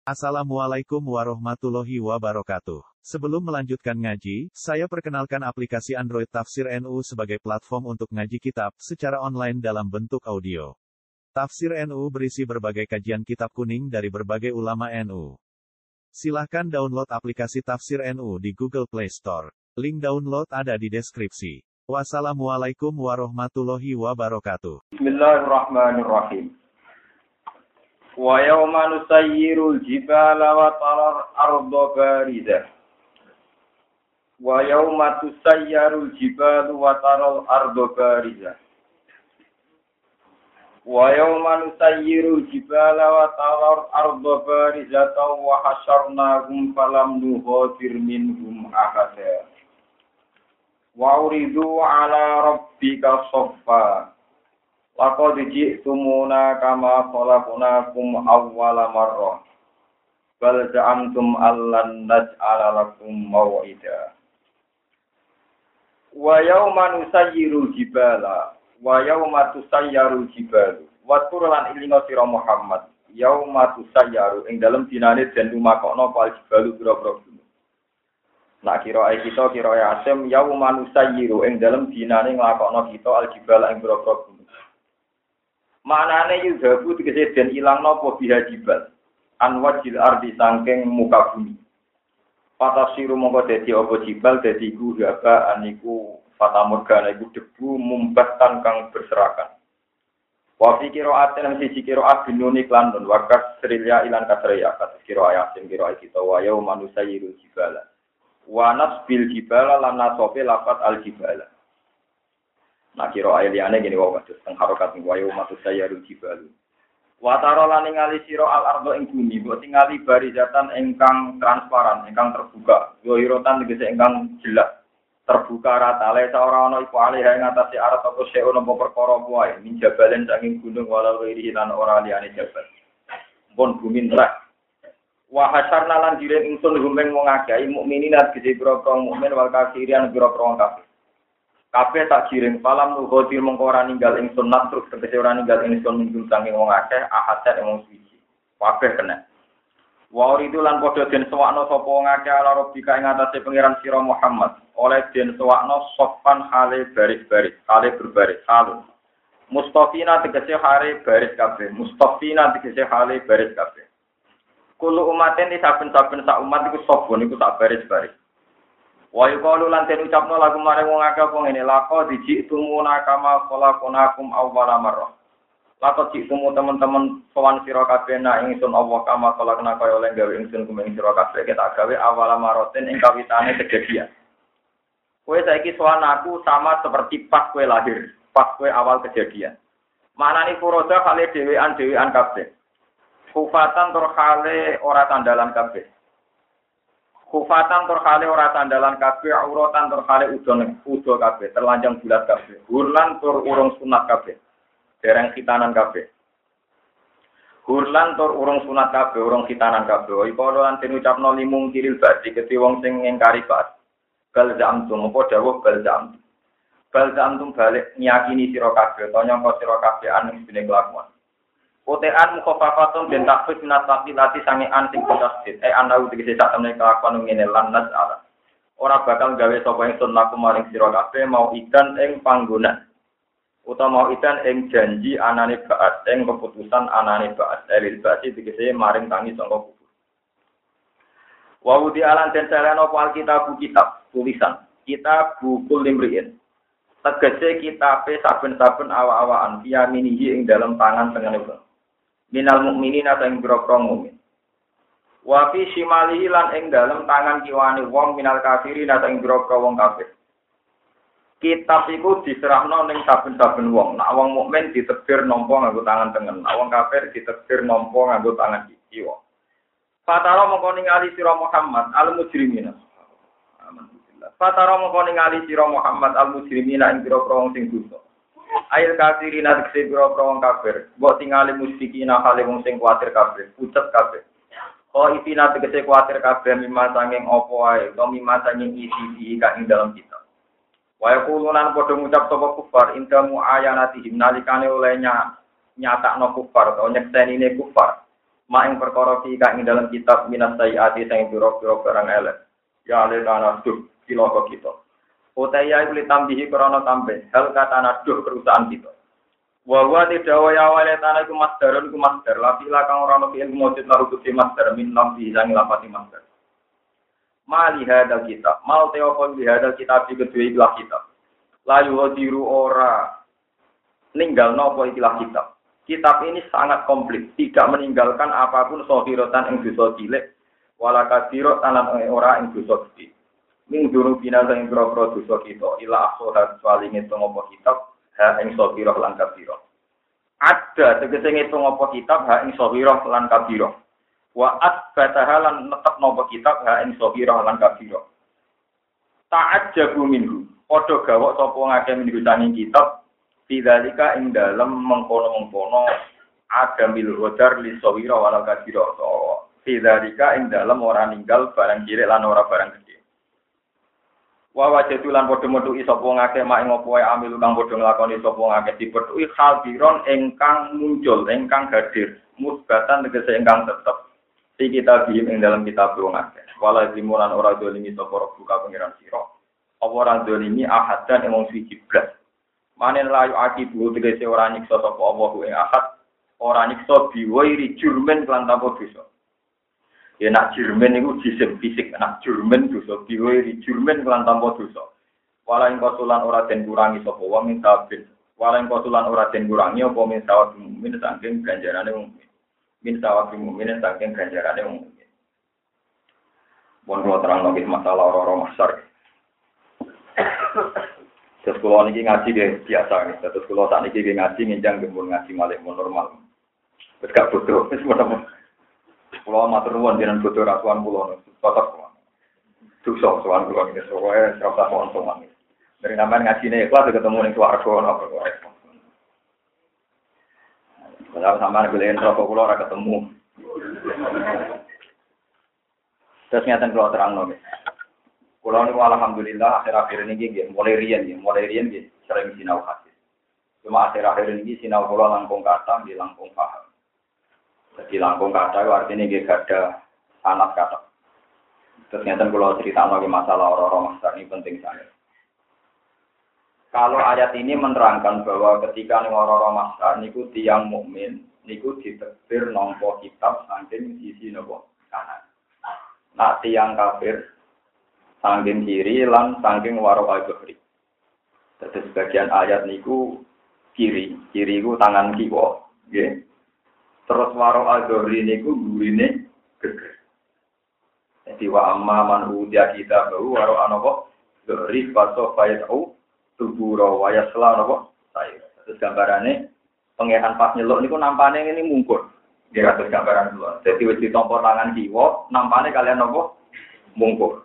Assalamualaikum warahmatullahi wabarakatuh. Sebelum melanjutkan ngaji, saya perkenalkan aplikasi Android Tafsir NU sebagai platform untuk ngaji kitab secara online dalam bentuk audio. Tafsir NU berisi berbagai kajian kitab kuning dari berbagai ulama NU. Silahkan download aplikasi Tafsir NU di Google Play Store. Link download ada di deskripsi. Wassalamualaikum warahmatullahi wabarakatuh. Bismillahirrahmanirrahim. Wa yawma nusayyirul jibala wa taral arda barizah. Wa yawma tusayyarul jibalu wa taral arda barizah. Wa yawma nusayyirul jibala wa taral arda barizah wa hasyarnahum falam nughadir minhum ahada. Wa uridu ala rabbika shaffa. Laqad ji'tumuna kama khalaqnakum awwala marrah. Bal za'amtum allan naj'ala lakum maw'ida. Wa yawma nusayyirul jibala wa yawma tusayyarul jibalu. Wa turlan ilinga sira Muhammad. Yawma tusayyaru ing dalem dinane den lumakokno pal jibalu pira-pira gunung. Nak kira kita kira Asim yawma nusayyiru ing dalem dinane nglakokno kita al jibala ing pira-pira gunung. Manane yudhabu tegese den ilang napa biha jibal anwajil ardi sangking muka bumi patasiru mongko dadi apa jibal dadi iku haba aniku fatamurgana iku debu mumbatan kang berserakan wa fi qira'atin siji qira'at binuni lan nun wakas srilya ilan kasriya kados qira'at sing qira'at kita wa ya manusayirul jibala wa nasbil jibala lan nasofe lafat al jibala. Nah kira ayliane gini wae kados teng harokat ning wayu matus sayarul jibalu. Wa tara lan ningali sira al ardo ing bumi, mbok tingali barizatan ingkang transparan, ingkang terbuka. Yo irotan tegese ingkang jelas. Terbuka rata le ora ana iku alih ing atase arat apa seo napa perkara wae, min jabalen saking gunung walal wiri lan ora liyane jabal. Pun bumi nerak. Wa hasyarna lan diren ingsun rumeng wong akeh mukminin tegese pira-pira mukmin wal kafirin pira-pira kafir. Kabeh tak jiring palam nuhoti mengko ora ninggal ing sunat terus tegese ora ninggal ing sun minggu saking wong akeh ahadat wong suci. Kabeh kena. Wa uridu lan padha den sewakno sapa wong akeh ala rabbika ing atase pangeran sira Muhammad. Oleh den sewakno sofan hale baris-baris, hale berbaris halun. Mustafina tegese hale baris kabeh, mustafina tegese hale baris kabeh. Kulo umaten di saben-saben sak umat iku sopon iku sak baris-baris. Wa yuqalu lan den ucapno lagu marang wong akeh apa ngene laqad ji'tumuna kama khalaqnakum awwala marrah. Laqad ji'tumu teman-teman sowan sira kabeh nak ingsun Allah kama khalaqna kaya oleh gawe ingsun kumeng sira kabeh kita gawe awwala marratin ing kawitane kejadian. Kowe saiki sowan aku sama seperti pas kowe lahir, pas kowe awal kejadian. Manane furoda kale dhewean kabeh. Kufatan tur kale ora tandalan kabeh. Kufatan turkhale ora tandalan kabeh, auratan turkhale udo kabeh, terlanjang bulat kabeh. Hurlan tur urung sunat kabeh. Dereng khitanan kabeh. Hurlan tur urung sunat kabeh, urung khitanan kabeh. Iku lan den ucapno limung kiril badi keti wong sing ngingkari ba'at. Bal zamtum apa dawuh bal zamtum. Bal zamtum balik nyakini sira kabeh, to nyangka sira kabeh anu dene kelakuan. Kotean mukhafafatun bin takfif minat lati sange anting tasdid anau tegese sak temene kelakuan ngene lan nasala ora bakal gawe sapa ingsun laku maring sira kabeh mau idan ing panggonan utawa mau idan ing janji anane baat ing keputusan anane baat elil basi tegese maring tangi sangka kubur wa udi alan den saleno kitab tulisan kitab bukul limriin tegese kitabe saben-saben awa-awaan via minihi ing dalam tangan tengene minal mukminin atau ing boro-boro mukmin. Wa fi shimalihi lan ing dalem tangan kiwane wong minal kafirin atau ing boro-boro wong kafir. Kitab iku diserahno ning saben-saben wong. Nek wong mukmin ditebir nampa nganggo tangan tengen, nek wong kafir ditebir nampa nganggo tangan kiwa. Fatara mongko ningali sira Muhammad al mujrimina. Alhamdulillah. Fatara mongko ningali sira Muhammad al mujrimina ing boro-boro wong sing dosa. Ail kafirin atekse pira-pira wong kafir, mbok tingali musyrikin hale wong sing kuwatir kabeh, pucet kabeh. Oh itina tegese kuwatir kabeh mimma sanging apa wae, to mimma sanging isi kang ing dalam kitab. Wa yaqulunan padha ngucap sapa kufar indamu ayanatihim nalikane oleh nyatakno kufar utawa nyeksenine kufar. ing perkara fi kang ing dalam kitab minas sayyati sing pira-pira barang elek. Ya ale tanaduh cilaka kita. Utaya iku litambihi krana tambah hal katanaduh kerusakan kita. Wa wa tidawa ya wale tanah iku masdarun iku masdar la fila kang ora ono ilmu mujud laru kudu masdar min lambi sang lapati masdar. Mali hadal kitab, mal teopon di hadal kitab di kedua ikhlas kitab. Layu hodiru ora ninggal nopo ikhlas kitab. Kitab ini sangat komplit, tidak meninggalkan apapun sohirotan ing dosa cilik, wala kasirot tanan ora ing dosa gede. Ming duru binasa ing pro dosa kita, ila aksohat swalinge ngopo kitab, ha ing sohiroh lan kabiro. Ada tegese ngitung ngopo kitab, ha ing sohiroh lan kabiro. Wa asbataha lan netep napa kitab ha ing sabira lan kabira. Ta'ajjabu minhu. Padha gawok sapa ngake minggu saking kitab fidzalika ing dalem mengkono-mengkono agamil hodar li sabira wal kabira. Fidzalika ing dalem ora ninggal barang cilik lan ora barang gedhe. Wa wajadu lan padha metuki sapa ngake mak ing apa wae amil kang padha nglakoni sapa ngake dipetuki hadiron ingkang muncul ingkang hadir musbatan tegese ingkang tetep di kitab ing dalam kitab wong akeh. Wala zimulan ora dolimi sapa buka pengiran sira. Apa ora dolimi ahadan ing wong suci blas. Manen layu akibu tegese ora nyiksa sapa Allah ing ahad, ora nyiksa biwairi jurmen lan tanpa dosa. Ya nak jurmen iku jisim fisik, nak jurmen dosa biwairi jurmen lan tanpa dosa. Wala ing kosulan ora den kurangi sapa wong ing tabin. Wala ing kosulan ora den kurangi apa min sawab mukmin saking ganjarane wong min sawabi mukminin saking ganjarane wong mukmin. Mun kula terang nggih masalah ora masar. Terus kula niki ngaji nggih biasa nggih. Terus kula sakniki nggih ngaji ngenjang gembul ngaji malih normal. Wis gak bodoh, wis mono. Kula matur nuwun jenengan bodoh rasuan kula tetep kula. Dosa sowan kula niki sowae ora usah wonten. Dari sampean ngajine ikhlas ketemu ning swarga napa kok. Kalau sama beliin rokok kulo ora ketemu. Terus nyata kulo terang nol. Kulo niku alhamdulillah akhir-akhir ini nggih mulai riyen nggih sering sinau hadis. Cuma akhir-akhir ini sinau kulo langkung kata nggih langkung paham. Jadi langkung kata itu artinya nggih ada sanad kata. Terus nyata kulo cerita lagi masalah orang-orang masar ini penting sekali. Kalau ayat ini menerangkan bahwa ketika orang-orang masar niku tiyang mukmin niku ditekbir nampa kitab saking sisi napa kanan. Nah tiyang kafir saking kiri lan saking waro al-bahri. Terus sebagian ayat niku kiri iku tangan kiwa, nggih. Terus waro al-bahri niku gurine geger. Jadi wa amma man udia kita baru waro anapa bahri faso fayau tubura waya selalu kok saya. Terus gambarannya pengehan pas nyeluk niku nampane ini mungkur. Dia atas gambaran dulu. Jadi wis ditompo tangan kiwa, nampane kalian nopo mungkur.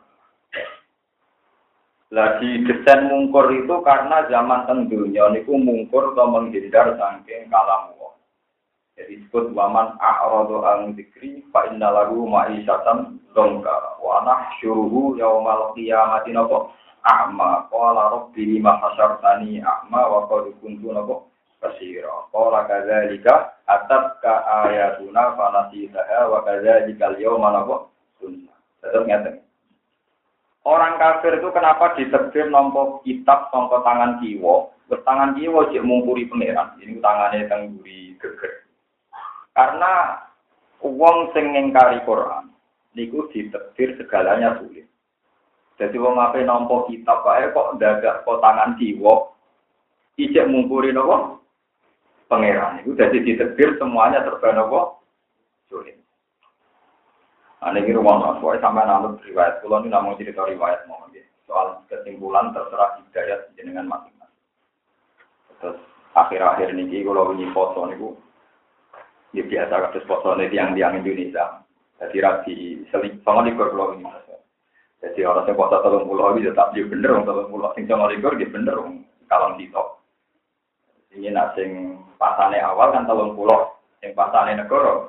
Lagi desain mungkur itu karena zaman tendunya niku mungkur atau menghindar saking kalam Allah. Jadi disebut waman a'radu an dzikri fa inna lahu ma'isyatan dongka wa nahsyuruhu yaumal qiyamati nopo a'ma qala rabbi lima hasyartani a'ma wa qad kuntu nabo basira qala kadzalika atabka ayatuna fa nasitaha wa kadzalika al-yawma nabo sunna. Tetap ngaten. Orang kafir itu kenapa ditekbir nampa kitab sangka tangan kiwa? Tangan kiwa jek mungkuri pangeran. Ini tangane teng mburi geger. Karena wong sing ngingkari Quran niku ditekbir segalanya sulit. Jadi wong ape nampa kitab wae kok ndagak kok tangan kiwa ijek mungkuri napa pangeran iku dadi ditekbir semuanya serba napa sulit. Ane iki ruang soal sampean anut riwayat kula niku namung cerita riwayat mawon nggih. Soal kesimpulan terserah hidayat jenengan masing-masing. Terus akhir-akhir niki kula wingi foto niku ya biasa kados fotone tiyang-tiyang Indonesia. Dadi rapi seling sama likur kula wingi. Jadi orang yang puasa 30 itu tetap dia bener, 30 sing sama likur dia bener, kalau ditok. Ini nasi pasane awal kan 30, yang pasane negara.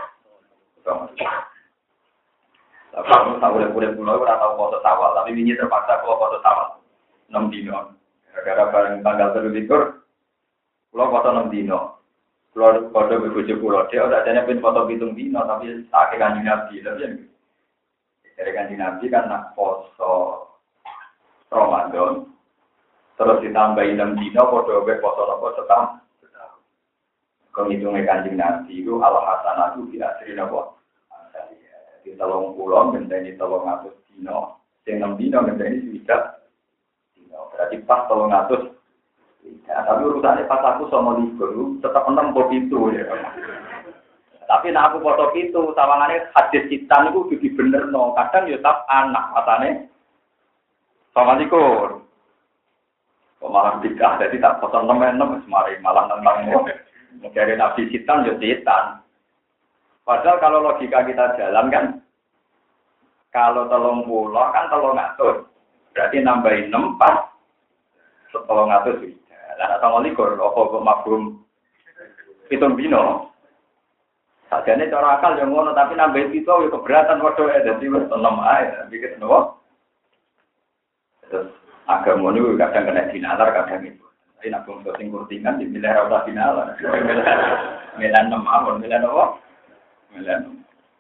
Tapi kamu tahu boleh pulau atau puasa awal, tapi ini terpaksa kalau puasa awal 6 dino. Gara-gara bareng tanggal 3 likur, pulau puasa 6 dino. Kalau kode bebujuk pulau dia udah adanya pin foto pitung dino tapi tak kanjeng Nabi tapi yang dari kanjeng Nabi kan nak poso Ramadan terus ditambahin 6 dino kode poso nopo setahun. Kalau hitungnya kanjeng Nabi itu Allah hasanatu tidak sering nopo. Di telung pulau menjadi telung atus dino, yang 6 dino menjadi sudah dino. Berarti pas telung atus. Ya, tapi urusannya pas aku sama libur tetap 6 itu ya. Tapi nak aku foto itu, sawangannya hadis citan itu jadi bener no. Kadang ya tetap anak matanya sama likur. Kok malah tidak, jadi tak foto 6 semari malah tentang mencari nabi citan ya citan. Padahal kalau logika kita jalan kan, kalau 30 kan 300, berarti nambahin 6 pas 300. Lah sama likur, apa mafhum pitung dino. Sajane cara akal yang ngono tapi nambahin itu ya keberatan waduh dadi wis 6 ae, pikir nopo. Terus agama niku kadang kena dinalar kadang itu. Tapi nek wong sing kurtingan dimilih ora usah dinalar. Milan 6 awon, milan apa? Milan.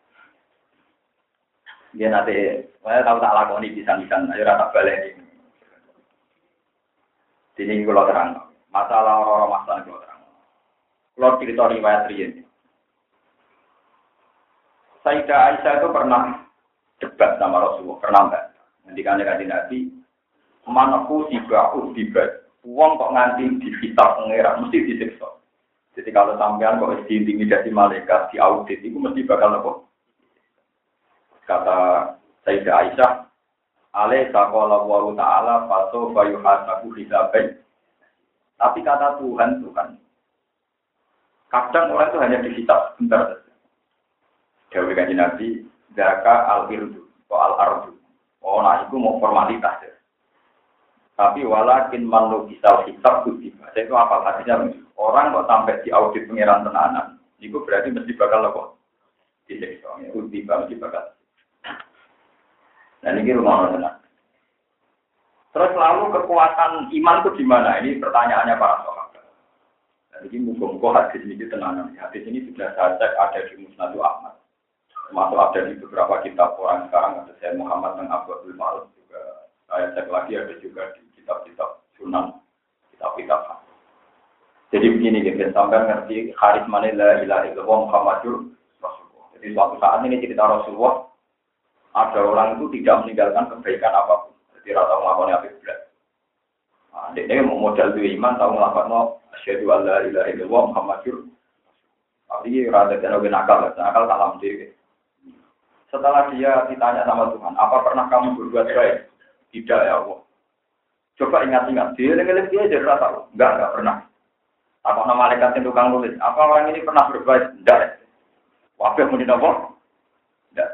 Dia nanti, saya tahu tak lakoni bisa-bisa, ayo rata balik ini. Sini kalau terang, masalah orang-orang masalah kalau terang. Kalau cerita riwayat Rian. Sayyidah Aisyah itu pernah debat sama Rasulullah, pernah enggak? Nanti kan Nabi, manaku sibau dibat, uang kok nganti dikitab pengeran, mesti disiksa. Jadi kalau sampean kok diintimidasi malaikat, diaudit, itu mesti bakal apa? Kata Sayyidah Aisyah, alaih saqala wa ta'ala faso fayuhasabu hisabai. Tapi kata Tuhan itu kan, kadang orang itu hanya dihisab sebentar saja. Dewi kanjeng Nabi, zaka al-irdu, al-ardu. Oh, nah itu mau formalitas ya. Tapi walakin manu kisah hisab kutiba. Itu apa artinya? Orang kok sampai di audit pengiran tenanan, itu berarti mesti bakal apa? Disiksa. Kutiba mesti bakal. Dan ini rumah orang. Terus lalu kekuatan iman itu di mana? Ini pertanyaannya para sahabat. Dan ini muka-muka hadis ini tenanan. Hadis ini sudah saya cek ada di Musnad Ahmad. Termasuk ada di beberapa kitab orang sekarang ada saya Muhammad dan Abdul Malik juga. Saya cek lagi ada juga di kitab-kitab Sunan, kitab-kitab. Jadi begini gitu, sampai ngerti karisma la ilaha illallah Muhammadur Rasulullah. Jadi suatu saat ini cerita Rasulullah. Ada orang itu tidak meninggalkan kebaikan apapun. Jadi rata melakukan apa berat. Nah, dia mau modal itu iman, tahu melakukan asyhadu an la ilaha illallah Muhammadur. Tapi rada jangan nakal salam diri. Setelah dia ditanya sama Tuhan, apa pernah kamu berbuat baik? Tidak ya Allah. Coba ingat-ingat, dia jadi rata. Enggak pernah. Apa nama malaikat yang tukang nulis? Apa orang ini pernah berbuat? Tidak. Wabah muni apa? Tidak.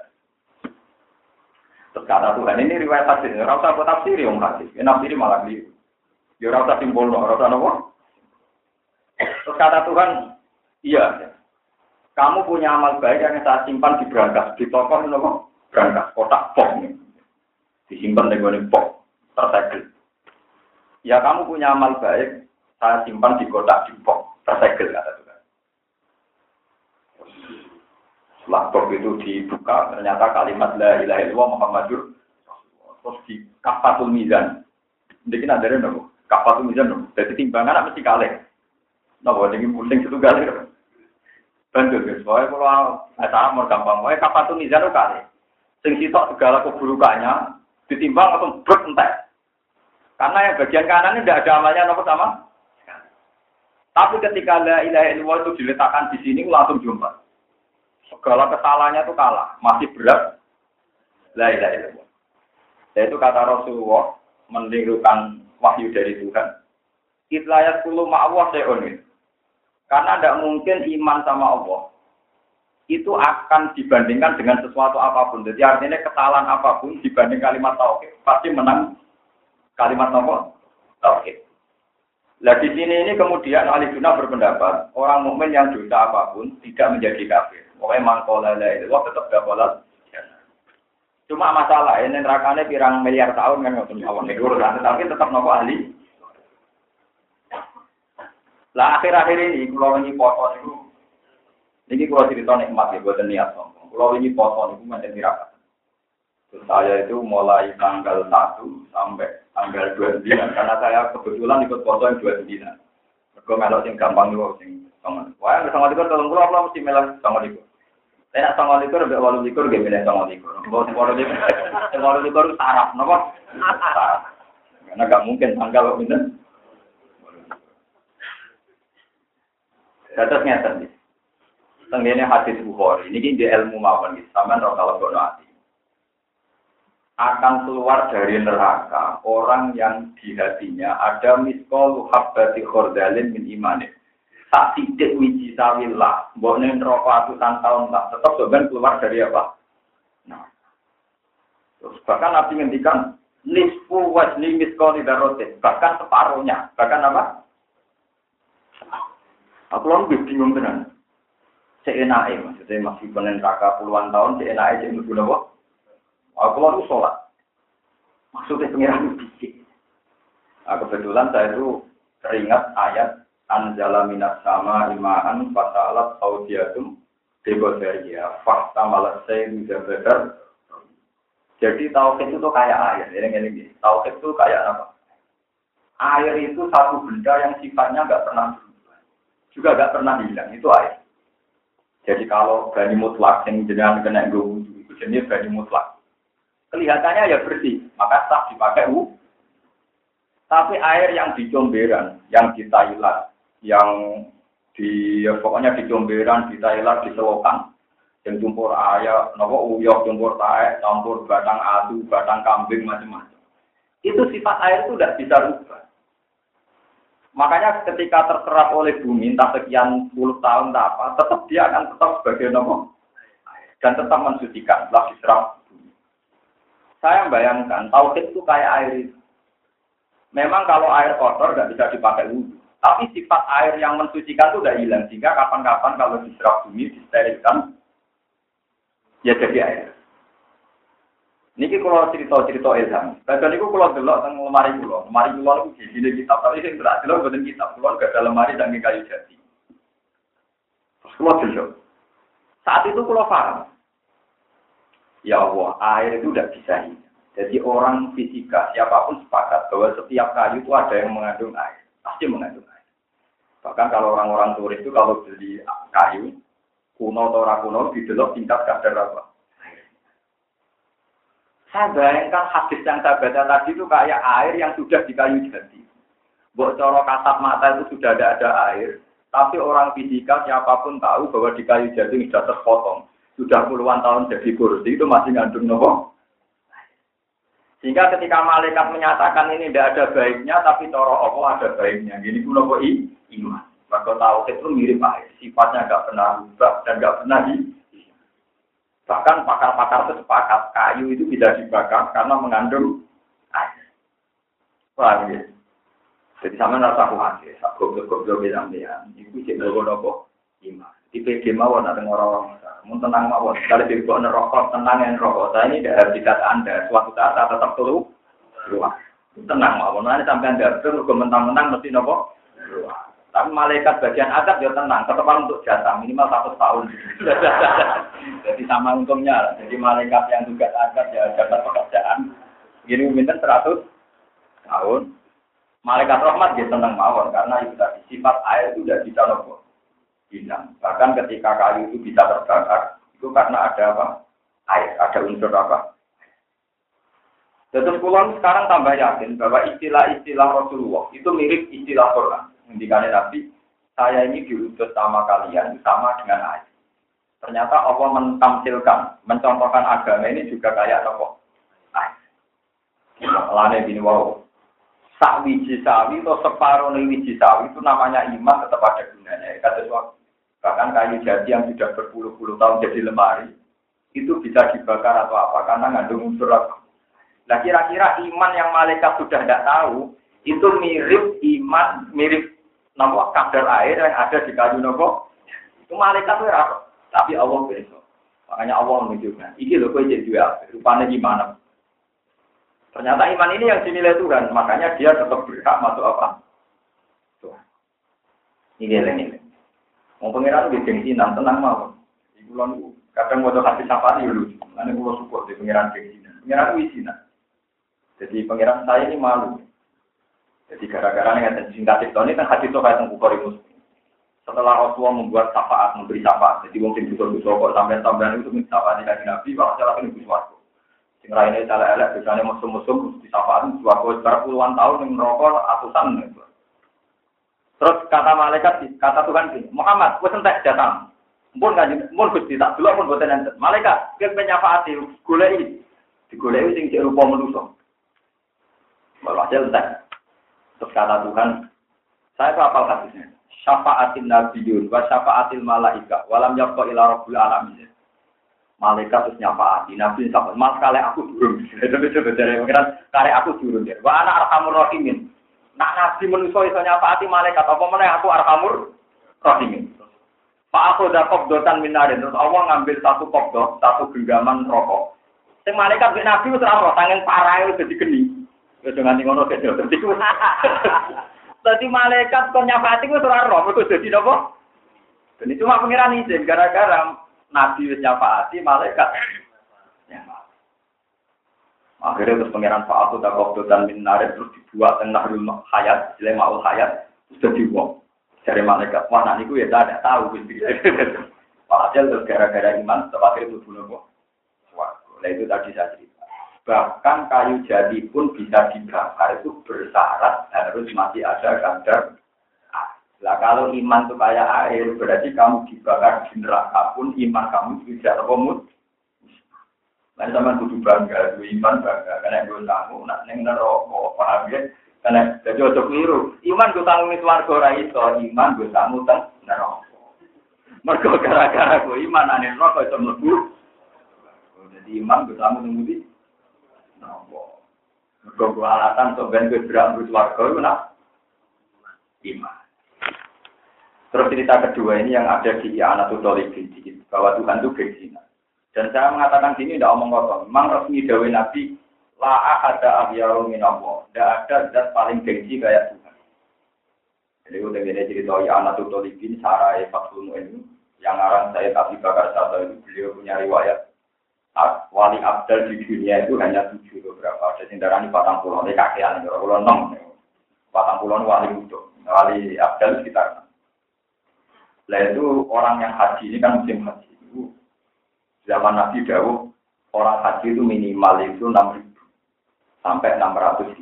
Terus kata Tuhan, ini riwayat hadis, ora usah buat tafsir yang hadis. Nafsir malah keliru. Ya ora usah simpulno, ora usah napa. Terus kata Tuhan, iya. Kamu punya amal baik yang saya simpan di brankas, di toko napa? Brankas, kotak box nih. Disimpan di gone box, tersegel. Ya kamu punya amal baik, saya simpan di kotak di box, tersegel kata Tuhan. Laptop itu dibuka, ternyata kalimat la ilaha illallah Muhammadur terus di kafatul mizan. Jadi ada nopo, kafatul mizan nopo. Jadi timbangan mesti kalih. Nopo jadi pusing satu kali. Bantu guys, soalnya kalau acara mau gampang, soalnya kafatul mizan itu kalih. Sing sitok segala keburukannya ditimbang atau brek entek. Karena yang bagian kanan ini tidak ada amalnya nopo sama. Tapi ketika la ilaha illallah itu diletakkan di sini langsung jumpa. Segala kesalahannya itu kalah, masih berat. La ilaha illallah. Yaitu kata Rasulullah menirukan wahyu dari Tuhan. Itlayat kulu ma'awah se'un. Karena tidak mungkin iman sama Allah itu akan dibandingkan dengan sesuatu apapun. Jadi artinya kesalahan apapun dibanding kalimat tauhid pasti menang kalimat apa? Tauhid. Nah di sini ini kemudian ahli sunnah berpendapat orang mukmin yang dosa apapun tidak menjadi kafir. Pokoknya mangkola la itu tetap dapat. Cuma masalah ini nerakane pirang miliar tahun kan ngoten mawon niku tapi tetap nopo ahli. Lah akhir-akhir ini kalau ini poso itu, ini kalau cerita nikmat ya buat niat sombong. Kalau ini poso itu macam tirakat. Terus saya itu mulai tanggal 1 sampai tanggal 29 karena saya kebetulan ikut poso yang 29. Mergo melok sing gampang yo sing sangat. Wah, nek sangat ikut tolong kula mesti melok sangat ikut. Nek sangat ikut mbek 8 ikut nggih milih sangat ikut. Mbok sing 8 ikut saraf napa? Karena enggak mungkin tanggal kok pinten. Terus ngeten iki. Tengene hadis Bukhari niki di ilmu mawon iki sampean ora kalau ngono ati. Akan keluar dari neraka orang yang di hatinya ada miskol habbati khordalin min imanin. Tak sidik wiji sawillah, mbokne neraka atusan tahun lah, tetap sebenarnya keluar dari apa? Nah. Terus bahkan Nabi ngendikan nisfu wajni miskol idarotin, bahkan separuhnya, bahkan apa? Aku lebih bingung tenan. Seenake maksudnya masih penen neraka puluhan tahun, seenake cek mlebu napa? Aku lalu sholat. Maksudnya pengiran bisik. Nah, kebetulan saya itu teringat ayat Anjala minas sama imaan fasalat audiatum debodaria fakta malasai mujabadar. Jadi tauhid itu kayak air. Ini. Tauhid itu kayak apa? Air itu satu benda yang sifatnya nggak pernah berubah. Juga nggak pernah hilang. Itu air. Jadi kalau bani mutlak yang jenengan kena wudhu itu jenis bani mutlak. Kelihatannya ya bersih, maka sah dipakai wudhu. Tapi air yang di comberan, yang di Thailand, yang di pokoknya di comberan, di Thailand, di selokan, yang campur ayam, nopo uyok, campur taek, campur batang adu, batang kambing, macam-macam. Itu sifat air itu tidak bisa rubah. Makanya ketika terserap oleh bumi, entah sekian puluh tahun, apa, tetap dia akan tetap sebagai nopo dan tetap mensucikan, setelah diserap. Saya bayangkan, tauhid itu kayak air itu. Memang kalau air kotor nggak bisa dipakai wudhu. Tapi sifat air yang mensucikan itu udah hilang. Sehingga kapan-kapan kalau diserap bumi, disterilkan, ya jadi air. Niki kalau cerita-cerita ilham. Kadang niku kalau delok teng lemari kula. Lemari kula niku di kitab. Tapi sing berat delok boten kitab. Kula gak ada lemari saking kayu jati. Terus kula delok. Saat itu kula paham. Ya Allah, air itu tidak bisa hilang. Jadi orang fisika, siapapun sepakat bahwa setiap kayu itu ada yang mengandung air. Pasti mengandung air. Bahkan kalau orang-orang turis itu kalau beli kayu, kuno atau rakuno, didelok tingkat kadar apa? Air. Saya bayangkan hadis yang saya baca tadi itu kayak air yang sudah di kayu jati. Buat cara kasat mata itu sudah ada air. Tapi orang fisika, siapapun tahu bahwa di kayu jati sudah terpotong. Sudah puluhan tahun jadi kursi itu masih ngandung nopo. Sehingga ketika malaikat menyatakan ini tidak ada baiknya, tapi cara Allah ada baiknya. Gini pun nopo iman. Maka tauhid itu mirip air, sifatnya nggak pernah berubah dan nggak pernah bahkan pakar-pakar itu sepakat kayu itu bisa dibakar karena mengandung air. Wah, gitu. Jadi sama rasa khawatir, goblok-goblok bilang dia, itu sih nopo iman. Di PD mawon ada orang-orang. Mun tenang mawon, kalau dibuat nerokok, tenang yang rokok. Saya ini tidak habitat Anda. Suatu saat saya tetap keluar. Tenang mawon. Nanti sampai Anda terus mentang-mentang mesti nopo. Tapi malaikat bagian adab ya tenang. Tetap untuk jatah minimal 1 tahun. Jadi sama untungnya. Jadi malaikat yang tugas adab ya jatah pekerjaan. Gini minta 100 tahun. Malaikat rahmat dia tenang mawon karena itu tadi sifat air itu tidak bisa nopo. Hilang. Bahkan ketika kayu itu bisa terbakar, itu karena ada apa? Air, ada unsur apa? Terus pulang sekarang tambah yakin bahwa istilah-istilah Rasulullah itu mirip istilah Quran. Ngendikane Nabi, saya ini diutus sama kalian sama dengan air. Ternyata Allah mentamsilkan, mencontohkan agama ini juga kayak apa? Air. Lane bini wow. Sak wiji sawi atau separuh wiji sawi itu namanya iman tetap ada gunanya. Bahkan kayu jati yang sudah berpuluh-puluh tahun jadi lemari itu bisa dibakar atau apa karena mengandung unsur apa. Nah kira-kira iman yang malaikat sudah tidak tahu itu mirip iman mirip nama kadar air yang ada di kayu nopo. Itu malaikat itu apa? Tapi Allah besok. Makanya Allah menunjukkan. Iki loh kau jadi dua. Rupanya gimana? Ternyata iman ini yang dinilai Tuhan, makanya dia tetap berhak masuk apa? Tuhan. Ini lengi. Mau pangeran di gengsinan tenang mau. Iku lan kadang mau hati safari dulu. Ane kulo support di pangeran gengsinan. Pangeran wisina. Jadi pangeran saya ini malu. Jadi gara-gara dengan singkat itu ini kan hadis itu kayak Bukhari Muslim. Setelah Rasulullah membuat syafaat, memberi syafaat, jadi mungkin butuh-butuh kok sampai-sampai itu minta syafaat dari Nabi, bahwa salah ini butuh. Sing lainnya cara elek, biasanya musuh-musuh di syafaat butuh berpuluhan tahun yang merokok ratusan. Terus kata malaikat, kata Tuhan ini, Muhammad, gue sentek datang. Mun Gusti tak dulu pun boten enten. Malaikat, kowe nyafaati goleki. Digoleki sing cek rupa manusa. Walhasil entek. Terus kata Tuhan, saya hafal hadisnya. Syafa'atin nabiyyun wa syafa'atil malaika walam yabqa ila rabbil alamin. Malaikat terus nyafaati, nabi syafaat. Mas kale aku durung. Coba dari pengiran kare aku durung. Wa ana arhamur rahimin. Nak nabi manusa iso nyafaati malaikat apa meneh aku arhamur rahimin. Pak aku dak qabdotan minarin terus Allah ngambil satu qabdo, satu genggaman rokok. Sing malaikat mek nabi wis ora ora sangen parahe wis dadi geni. Wis nganti ngono dadi. Dadi malaikat kon nyafaati wis ora ora mergo dadi napa? Dene cuma pengiran izin gara-gara nabi wis nyafaati malaikat. Akhirnya terus pengiran Pak aku dak qabdotan minarin terus dibuat teng nahrul hayat, lemaul hayat sudah dibuang. Dari malaikat, wah nak niku ya tidak tahu gitu. Padahal terus gara-gara iman, terakhir itu dulu kok. Wah, itu tadi saya cerita. Bahkan kayu jati pun bisa dibakar itu bersyarat harus masih ada kadar. Nah kalau iman itu kayak air, berarti kamu dibakar di neraka pun iman kamu tidak terkomut. Lain sama kudu bangga, iman bangga, karena gue tahu nak neng neraka, paham ya? Karena jadi ojo keliru. Iman gue tanggung itu warga ora iso, iman gue tanggung teng neraka. Mergo gara-gara gue iman ane neraka iso mlebu. Jadi iman gue tanggung teng ndi? Neraka. Mergo gue alasan sok ben gue berambut warga iku nak iman. Terus cerita kedua ini yang ada di Anatul Talibin bahwa Tuhan itu berzina. Dan saya mengatakan sini tidak omong kosong. Memang resmi dawuh Nabi la ada ahyaru minallah. Tidak ada zat paling gengsi kayak Tuhan. Jadi udah gini cerita ya Anatul Talibin Sarai Fatul Mu'in yang arang saya Abi Bakar Sa'ad itu beliau punya riwayat wali abdal di dunia itu hanya 7 beberapa. Ada yang darah ini 40, ini kakean, 46. 40 wali untuk wali abdal sekitar. Nah itu orang yang haji ini kan musim haji itu zaman Nabi Dawud orang haji itu minimal itu 6.000 sampai 600.000.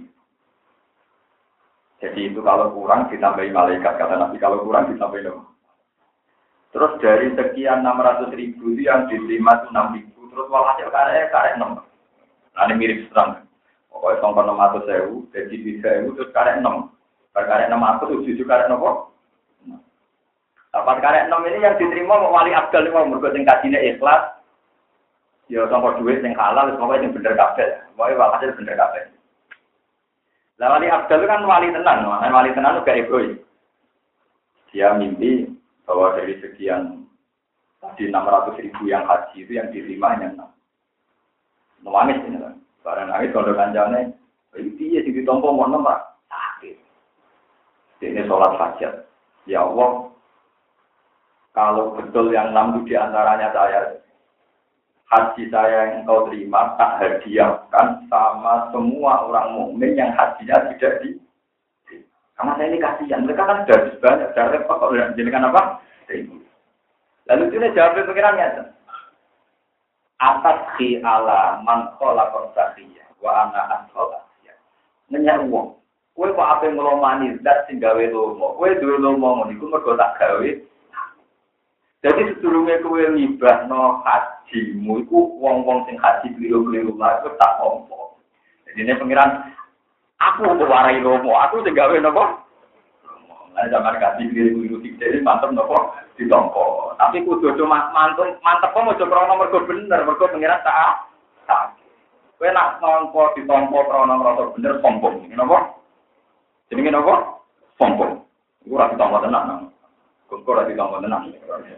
Jadi itu kalau kurang ditambahi malaikat kata Nabi, kalau kurang ditambahi nama. Terus dari sekian 600.000 itu yang diterima itu 6.000, terus walhasil karek 6. Nah ini mirip serang. Pokoknya sampai 600.000, jadi 3.000 terus karek 6. Karek 600 itu karek nopo. Dapat karek 6 ini yang diterima wali abdal ini mau mergo sing kajine ikhlas. Ya sampai duit yang halal, semoga yang bener kabeh. Pokoknya walhasil bener kabeh. Lah wali abdal itu kan wali tenan, wali tenan itu gak egois. Dia mimpi bahwa dari sekian tadi 600.000 yang haji itu yang diterima hanya 6. Nangis ini kan. Barang nangis kalau kancane, itu dia sing ditompo ngono Pak. Sakit. Ini sholat hajat. Ya Allah, kalau betul yang 6 itu diantaranya saya, haji saya yang engkau terima tak hadiahkan sama semua orang mukmin yang hajinya tidak di. Karena saya ini kasihan, mereka kan sudah banyak, sudah repot kalau dijadikan apa? Lalu itu jawab pikirannya. Atas khi ala man khalaqa sakhiyya wa ana asqalasiya. Nanya uang. Kowe kok ape nglomani zat sing gawe lomo. Kowe duwe lomo ngono iku mergo tak gawe. Jadi sedurunge kowe ngibahno hajimu iku wong-wong sing haji kliru-kliru lah iku tak ompo. Jadi ini pengiran aku kok warai lomo, aku sing gawe napa? Lah zaman haji kliru-kliru iki mantep napa ditompo. Tapi kudu cuma mantep kok aja krana mergo bener, mergo pengiran tak. Kowe nak nompo ditompo krana merasa bener sombong. Napa? Jenenge napa? Sombong. Iku ora ditompo tenan. Kok ora ditompo tenan.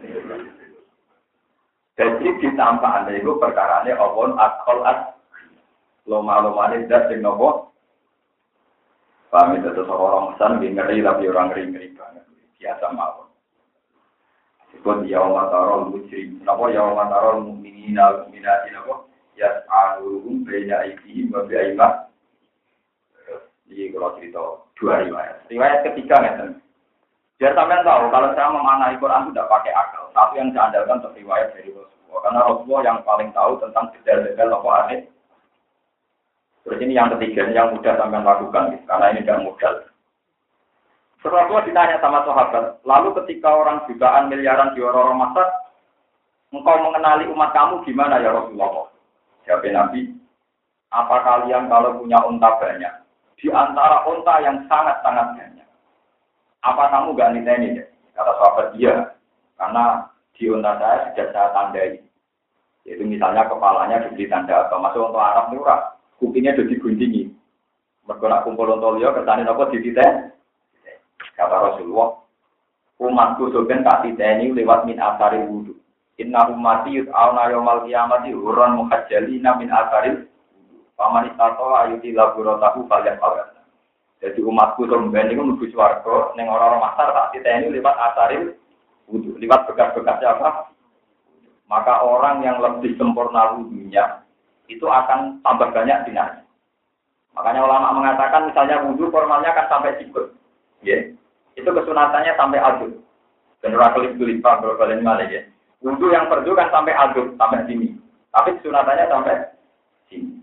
Jadi ditambah anda itu perkarane awon akal loma-lomane zat sing napa? Paham itu orang pesan ngeri tapi orang ngeri banget. biasa mawon. Sebut yauma taral mujrim. Napa yauma taral mukminina wal mukminati napa? Yas'aluhum baina aydihim wa bi'ayman. Ini kalau cerita dua riwayat. Riwayat ketiga ngeten. Biar sampean tahu kalau saya memaknai Quran itu tidak pakai akal. Tapi yang saya andalkan untuk riwayat dari Rasulullah. Karena Rasulullah yang paling tahu tentang detail-detail apa aneh. Terus ini yang ketiga, yang mudah sampean lakukan. Karena ini tidak mudah. Rasulullah ditanya sama sahabat. Lalu ketika orang jutaan miliaran di orang masak, engkau mengenali umat kamu gimana ya Rasulullah? Jawab Nabi, apa kalian kalau punya unta banyak? Di antara unta yang sangat-sangat banyak. Apa kamu gak niteni? Kata sahabat, iya. Karena di unta saya sudah saya tandai. Yaitu misalnya kepalanya diberi tanda apa. Masuk untuk Arab ini ora. Kupingnya sudah diguntingi. Mereka nak kumpul untuk liya, kesanin apa di titen? Kata Rasulullah, umatku soben tak titeni lewat min asaril wudu. Inna ummati yud'auna yawmal qiyamati hurran muhajjalina min asaril wudu. Faman istata'a ayuti laburatahu falyaf'al. Jadi umatku sampeyan niku menuju swarga ning ora-ora masar tak titeni lewat asaril wudu, lewat bekas-bekasnya apa? Maka orang yang lebih sempurna wudunya itu akan tambah banyak dinanya. Makanya ulama mengatakan misalnya wudu formalnya kan sampai sikut. Ya. Itu kesunatannya sampai aduk. Benar kelip-kelip Pak berkali malah ya. Wudu yang fardu kan sampai aduk, sampai sini. Tapi kesunatannya sampai sini.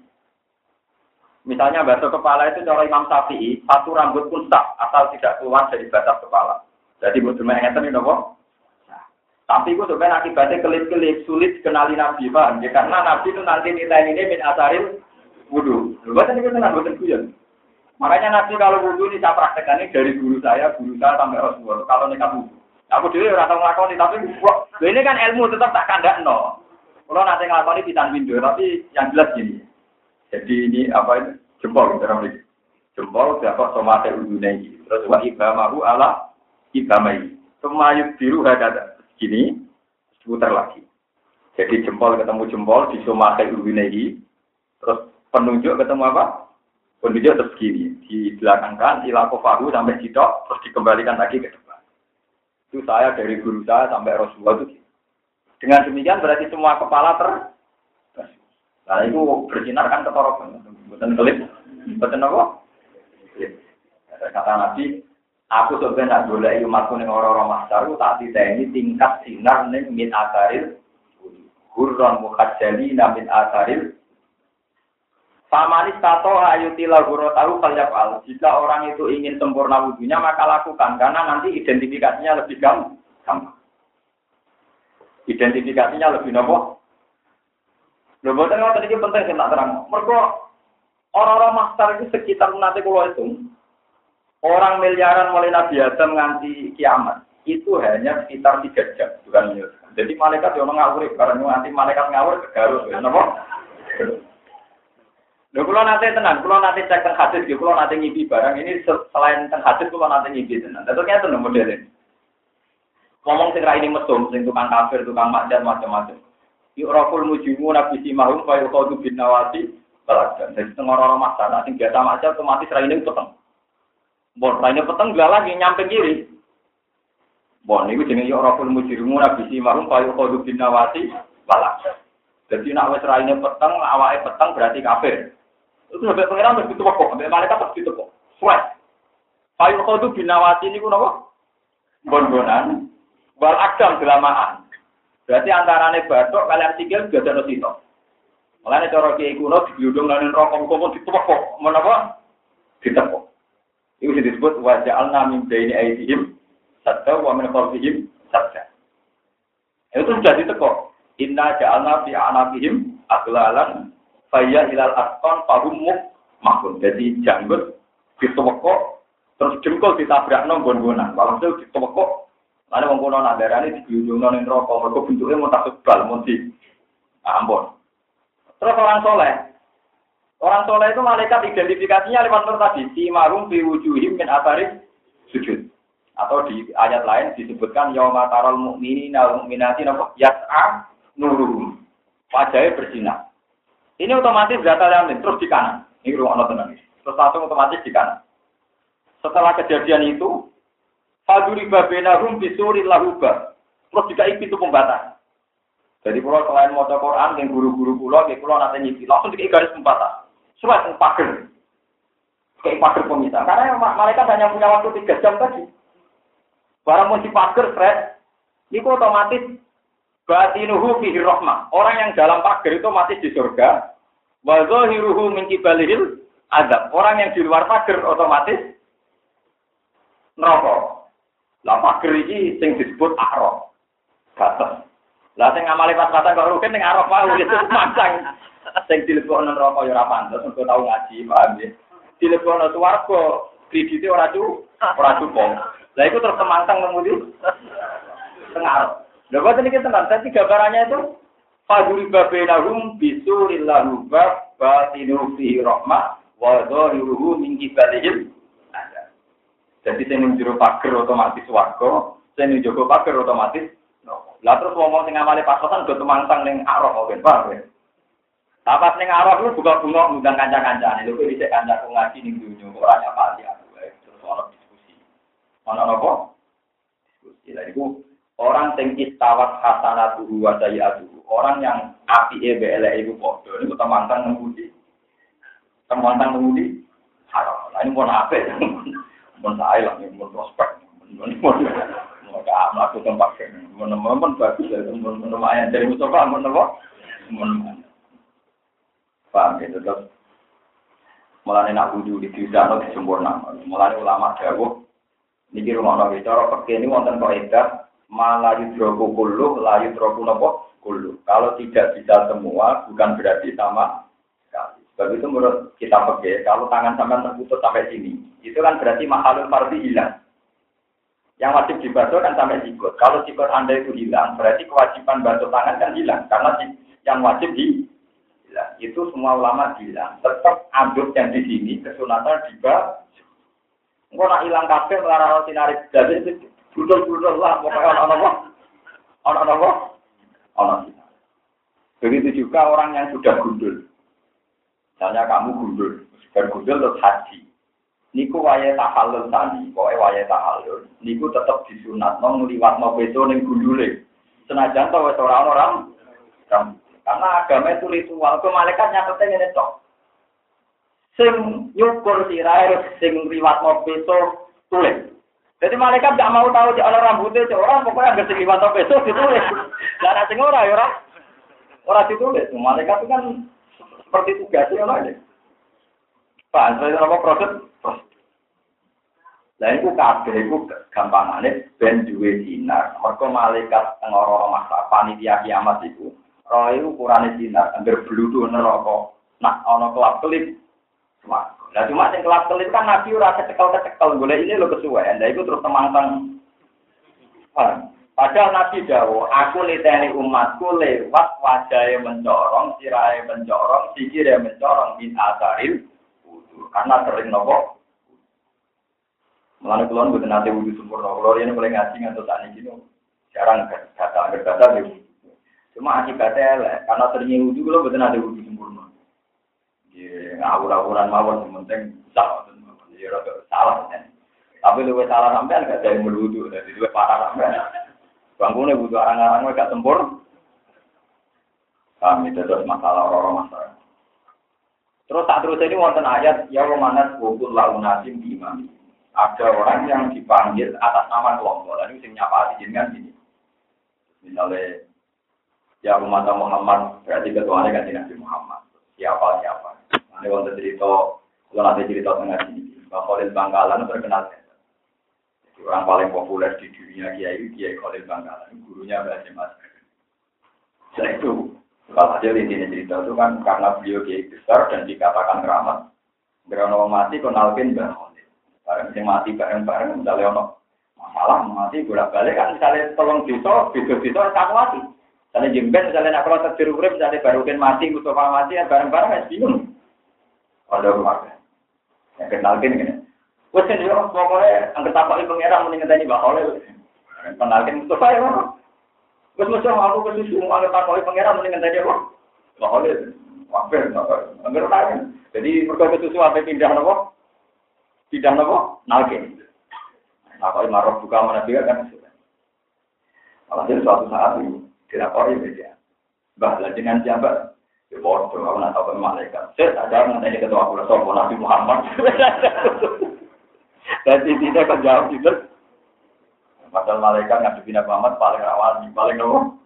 Misalnya basuh kepala itu cara Imam Syafi'i, satu rambut pun sah, asal tidak keluar dari batas kepala. Jadi buat ngeten ini nopo. Nah, tapi itu sebenarnya akibatnya kelip-kelip sulit kenali Nabi, Pak. Ya, karena Nabi itu nanti nilai ini min asaril wudu. Bukan itu tenang, bukan guyon. Makanya Nabi kalau wudu ini saya praktekkan ini dari guru saya sampai Rasulullah. Kalau nekat wudu, aku dulu rasa ngelakoni, tapi ini kan ilmu tetap tak kandakno. Kalau nanti ngelakoni pitan window, tapi yang jelas gini. Jadi ini apa itu? Jempol dalam ini. Jempol dapat somate udunai. Terus wa ibamahu ala ibamai. Semayuk biru hadada. Gini, putar lagi. Jadi jempol ketemu jempol di somate udunai. Terus penunjuk ketemu apa? Penunjuk terus gini. Dibelakangkan ila kofahu sampai sitok. Terus dikembalikan lagi ke depan. Itu saya dari guru saya sampai Rasulullah itu. Dengan demikian berarti semua kepala nah itu bersinar kan ketorokan, bukan kelip, bukan apa? Kata Nabi, aku sebenarnya boleh umatku ning orang-orang masyar, tak diteni tingkat sinar ning min asaril, hurron mukhajjalina min asaril. Famanis tato ayutilah hurrotahu falyafal. Jika orang itu ingin sempurna wudunya maka lakukan, karena nanti identifikasinya lebih gampang. Identifikasinya lebih nopo. Lepas itu tadi penting saya tak terang. Mereka orang-orang master itu sekitar nanti kalau itu orang miliaran mulai Nabi Adam nganti kiamat itu hanya sekitar 3 jam, bukan minus. Jadi malaikat yang ngawur karena nanti malaikat ngawur ke Garut, kenapa? Kalau nanti tenang, kalau nanti cek teng hadis, kalau nanti ngipi barang ini selain teng hadis, kalau nanti ngipi tenang. Tentunya itu modelnya. Ngomong segera ini mesum, sing tukang kafir, tukang maksiat macam-macam. Yu'raful mujimu nabi simahum fa yuqadu bin nawati baladan. Jadi orang-orang masalah sing biasa maksiat otomatis raine peteng. Bon raine peteng gak lagi nyampe kiri. Bon niku jenenge yu'raful mujimu nabi simahum fa yuqadu bin nawati baladan. Jadi nek wis raine peteng, awake peteng berarti kafir. Itu sampai pengiran wis ditepok, sampai malaikat wis ditepok. Suwes. Fa yuqadu bin nawati niku napa? Bon-bonan. Wal akdam delamaan. Berarti antarane batok kalian sikil gak ada sito. Mulane cara kiai kuno digludung lan rokok kok ditepok. Menapa? Ditepok. Iku disebut wa ja'alna min baini aydihim sadda wa min khalfihim sadda. Itu sudah ditepok. Inna ja'alna fi a'naqihim aglalan fayya ilal asqan fahum mahkum. Jadi janggut ditepok terus jengkol ditabrakno gon-gonan. Walhasil ditepok. Ada wong kono nak darane digludungno ning neraka, mergo bentuke mau tak sebal, mau di ampun. Terus orang soleh. Orang soleh itu malaikat identifikasinya lewat nur tadi, si marum fi wujuhim min atharis sujud. Atau di ayat lain disebutkan yauma taral mu'minina wal mu'minati yas'a nuruhum. Wajahnya bersinar. Ini otomatis data yang terus di kanan. Ini ruang tenan. Terus langsung otomatis di kanan. Setelah kejadian itu Faduri babenahum bisuril lahuba. Terus dikai pintu pembatas. Jadi kalau selain maca Quran yang guru-guru kula, nggih kula nate nyiki langsung dikai garis pembatas. Surat pager. Kayak pager pemisah. Karena mereka hanya punya waktu 3 jam tadi. Barang mau dipager, Fred, itu otomatis batinuhu fihi rahmah. Orang yang dalam pager itu mati di surga. Wa zahiruhu min qibalihil azab. Orang yang di luar pager otomatis neraka. Lah pager iki sing disebut araf. Batas. Lah sing ngamale pas-pasan kok rugen ning araf wae itu mancang. Sing dilebokno neraka ya ora pantes, engko tau ngaji, paham ya. Dilebokno swarga, kredite ora cukup. Lah iku terus temantang ngemudi tengah. Lha kok niki tenan, tadi gambarannya itu faduri babenahum bisuril lahuba batinu fihi rahmah wa zahiruhu min qibalihim. Jadi sing njero pager otomatis swarga, sing njogo pager otomatis neraka. Lah terus ngomong sing amale pasokan go temantang ning araf ben, paham ya? Tapas ning araf lu buka-bunga ngundang kanca-kancane. Lho kok dhisik kancaku ngaji ning dunyo ora nyapati aku wae. Terus ana diskusi. Ana apa? Diskusi. Lah iku orang sing istawat hasanatuhu wa sayiatuhu. Orang yang apike mbek eleke iku padha niku temantang ngemudi. Temantang ngemudi haram. Lah ini pun apik. Mun sae lah mun prospek. Mun aku tempat mun bagus mun lumayan dari Mustafa mun apa? Mun paham gitu terus mulane nak wudu di disano disempurna. Mulane ulama dawuh niki rumono bicara peke ini wonten kaidah malah yudroku kullu la yudroku napa kullu. Kalau tidak bisa semua bukan berarti sama sekali. Sebab itu menurut kita peke kalau tangan sampai terputus sampai sini itu kan berarti mahalul fardhi hilang. Yang wajib dibasuh kan sampai sikut. Kalau sikut Anda itu hilang berarti kewajiban basuh tangan kan hilang karena yang wajib itu semua ulama bilang tetap aduk yang di sini kesunatan dibasuh. Engko nak ilang kabeh melarang sinari jadi itu budul-budul lah pokoknya ono. Begitu juga orang yang sudah gundul. Misalnya kamu gundul, sudah gundul terus haji. Niku wayahe tahallul tadi, pokoke wayahe tahallul. Niku tetap disunatno ngliwatno beso ning gundule. Senajan to wis ora orang. Karena agama itu ritual, ke malaikat nyatetnya ini tok. Sing nyukur sirahe sing riwatno beso tulis. Jadi malaikat gak mau tahu ana rambutnya orang pokoknya anggere sing riwatno beso ditulis. Lah nek sing ora ya ora ditulis. Malaikat itu kan seperti tugasnya ngono ya. Pak, saya apa proses? Lah iku kabeh iku gampangane ben duwe dinar. Mergo malaikat ngoro masa panitia kiamat iku roh itu ukurane dinar, anggar bludhu neraka. Nak ana kelap-kelip. Nah, cuma sing kelap-kelip kan Nabi ora kecekel-kecekel, golek ini lho kesuwen. Lah iku terus temangtang. Padahal Nabi dawuh, aku liteni umatku lewat wajahe mencorong, sirahe mencorong, sikire mencorong min asaril wudu. Karena sering nopo. Mulane kula mboten nate wudu sempurna. Kula yen mulai ngaji ngantos sakniki jarang kata gitu. Cuma akibatnya elek, karena seringnya wudhu, kalau betul ada wudhu sempurna. Ya, ngawur-ngawuran mawon, penting salah. Ya, salah. Tapi lebih salah sampean, gak ada yang berwudhu. Jadi lebih parah sampean. Bangunnya wudhu orang-orang, gak sempurna. Kami terus masalah orang-orang masalah. Terus saat terus ini, wonten ayat, ya romanas wukul launasim di imam. Ada orang yang dipanggil atas nama kelompok. Lalu yang nyapa dijinkan gini. Misalnya, ya umat Muhammad berarti ketuanya kan Nabi Muhammad. Siapa? Nanti waktu cerita, kalau nanti cerita tengah sini, Mbak Khalil Bangkalan terkenal. Jadi orang paling populer di dunia Kiai Khalil Bangkalan, gurunya Mbak Mas. Setelah itu, kalau saja intinya cerita itu kan karena beliau Kiai besar dan dikatakan keramat. Karena orang mati kenalkan Mbak Khalil. Barang yang mati bareng-bareng, misalnya orang masalah mati bolak-balik kan misalnya tolong desa tak mati. Misalnya jemben, misalnya nak kalau terjeru urip, misalnya barukan mati, Mustafa mati, ya bareng-bareng ya bingung. Ada keluarga. Yang kenalkan gini. Wes kan dia pokoknya angkat tapak pengeran mendingan tadi bakal kenalkan Mustafa ya. Wes Mustafa aku kesusu angkat tapak pengeran mendingan tadi apa? Bakal wae angkat tapak. Jadi mereka kesusu apa pindah nopo? Nalkin. Takoi marok buka mana juga kan sudah. Alhasil suatu saat itu dilapori media. Bah, dengan siapa? Ya bodoh, aku nak tahu malaikat. Saya tak jawab nanti ketua aku rasa Nabi Muhammad. Dan tidak akan jawab itu. Padahal malaikat ngadepin Nabi Muhammad paling rawan, paling nomor.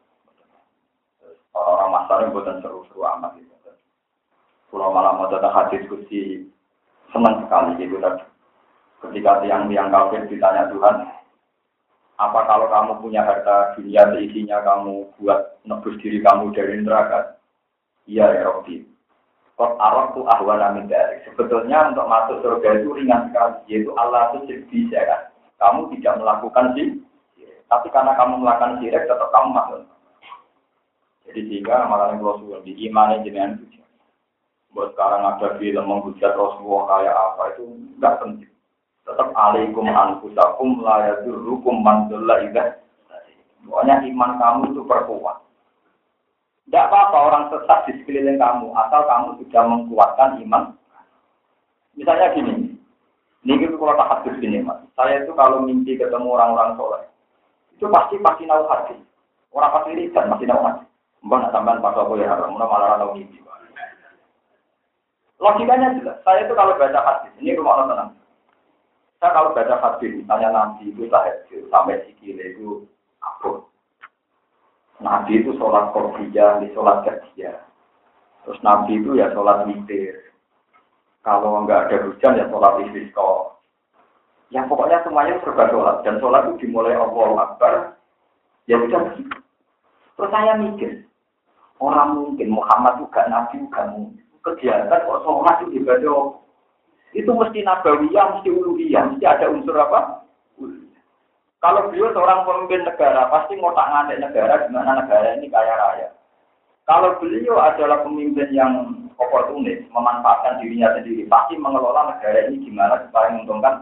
Orang masar yang bukan seru-seru amat itu. Kalau malam mau datang hadis diskusi senang sekali gitu tadi. Ketika tiang-tiang kafir ditanya Tuhan, apa kalau kamu punya harta dunia seisinya kamu buat nebus diri kamu dari neraka? Iya ya Rabbi. Kot arok tu ahwana min dzalik. Sebetulnya untuk masuk surga itu ringan sekali, yaitu Allah itu bisa kan. Kamu tidak melakukan syirik, tapi karena kamu melakukan syirik tetap kamu masuk. Jadi sehingga malah Rasulullah di iman jenengan itu. Buat sekarang ada film menghujat Rasulullah kayak apa itu enggak penting. Tetap alaikum anfusakum la yadurrukum man dhalla idza. Pokoknya iman kamu itu perkuat. Tidak apa-apa orang sesat di sekeliling kamu, asal kamu sudah mengkuatkan iman. Misalnya gini, ini kalau tak hadis gini mas, saya itu kalau mimpi ketemu orang-orang soleh, itu pasti nahu hadis. Orang pasti riset masih nahu hadis. Mbak nak sampean pas aku ya haram, malah tahu mimpi. Logikanya jelas. Saya itu kalau baca hadis, ini rumah orang tenang. Saya kalau baca hadis, misalnya Nabi itu tahajud sampai sikile itu abot. Nabi itu sholat qobliyah, di sholat qadiyah. Terus Nabi itu ya sholat witir. Kalau enggak ada hujan ya sholat istisqa. Ya pokoknya semuanya serba sholat. Dan sholat itu dimulai Allahu Akbar. Ya sudah. Terus saya mikir, orang mungkin Muhammad juga Nabi juga mungkin. Kegiatan kok sholat itu ibadah. Itu mesti nabawiyah, mesti uluhiyah, mesti ada unsur apa? Kalau beliau seorang pemimpin negara, pasti ngotak ngatik negara, gimana negara ini kaya raya. Kalau beliau adalah pemimpin yang oportunis, memanfaatkan dirinya sendiri, pasti mengelola negara ini gimana supaya menguntungkan.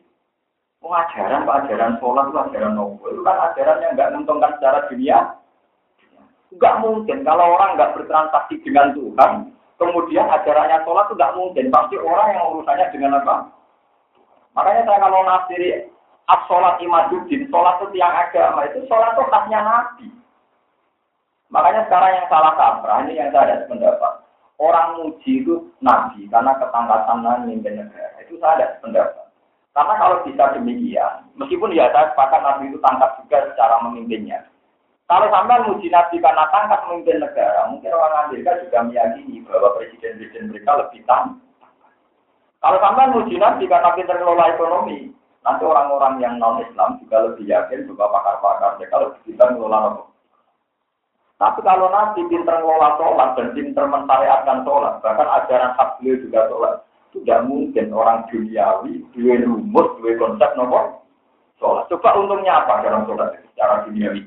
Ajaran sholat itu ajaran nopo. Itu kan ajaran yang nggak menguntungkan secara dunia. Nggak mungkin. Kalau orang nggak bertransaksi dengan Tuhan, kemudian ajarannya sholat itu nggak mungkin. Pasti orang yang urusannya dengan apa? Makanya saya kalau nafsiri as-sholat imaduddin, sholat itu tiang agama, itu sholat itu khasnya Nabi. Makanya sekarang yang salah kaprah, ini yang saya ada pendapat. Orang muji itu Nabi, karena ketangkasan memimpin negara. Itu saya ada pendapat. Karena kalau bisa demikian, meskipun ya saya sepakat Nabi itu tangkap juga secara memimpinnya. Kalau sampai muji Nabi karena tangkap memimpin negara, mungkin orang Amerika juga meyakini bahwa presiden-presiden mereka lebih tangkap. Kalau sampai muji Nabi karena pintar mengelola ekonomi, nanti orang-orang yang non-Islam juga lebih yakin bahwa pakar-pakar mereka lebih pintar mengelola ekonomi. Tapi kalau Nabi pintar mengelola sholat dan pintar mensyariatkan sholat, bahkan ajaran hak beliau juga sholat, tidak mungkin orang duniawi, dua rumus, dua konsep nomor sholat. Coba untungnya apa dalam sholat secara duniawi?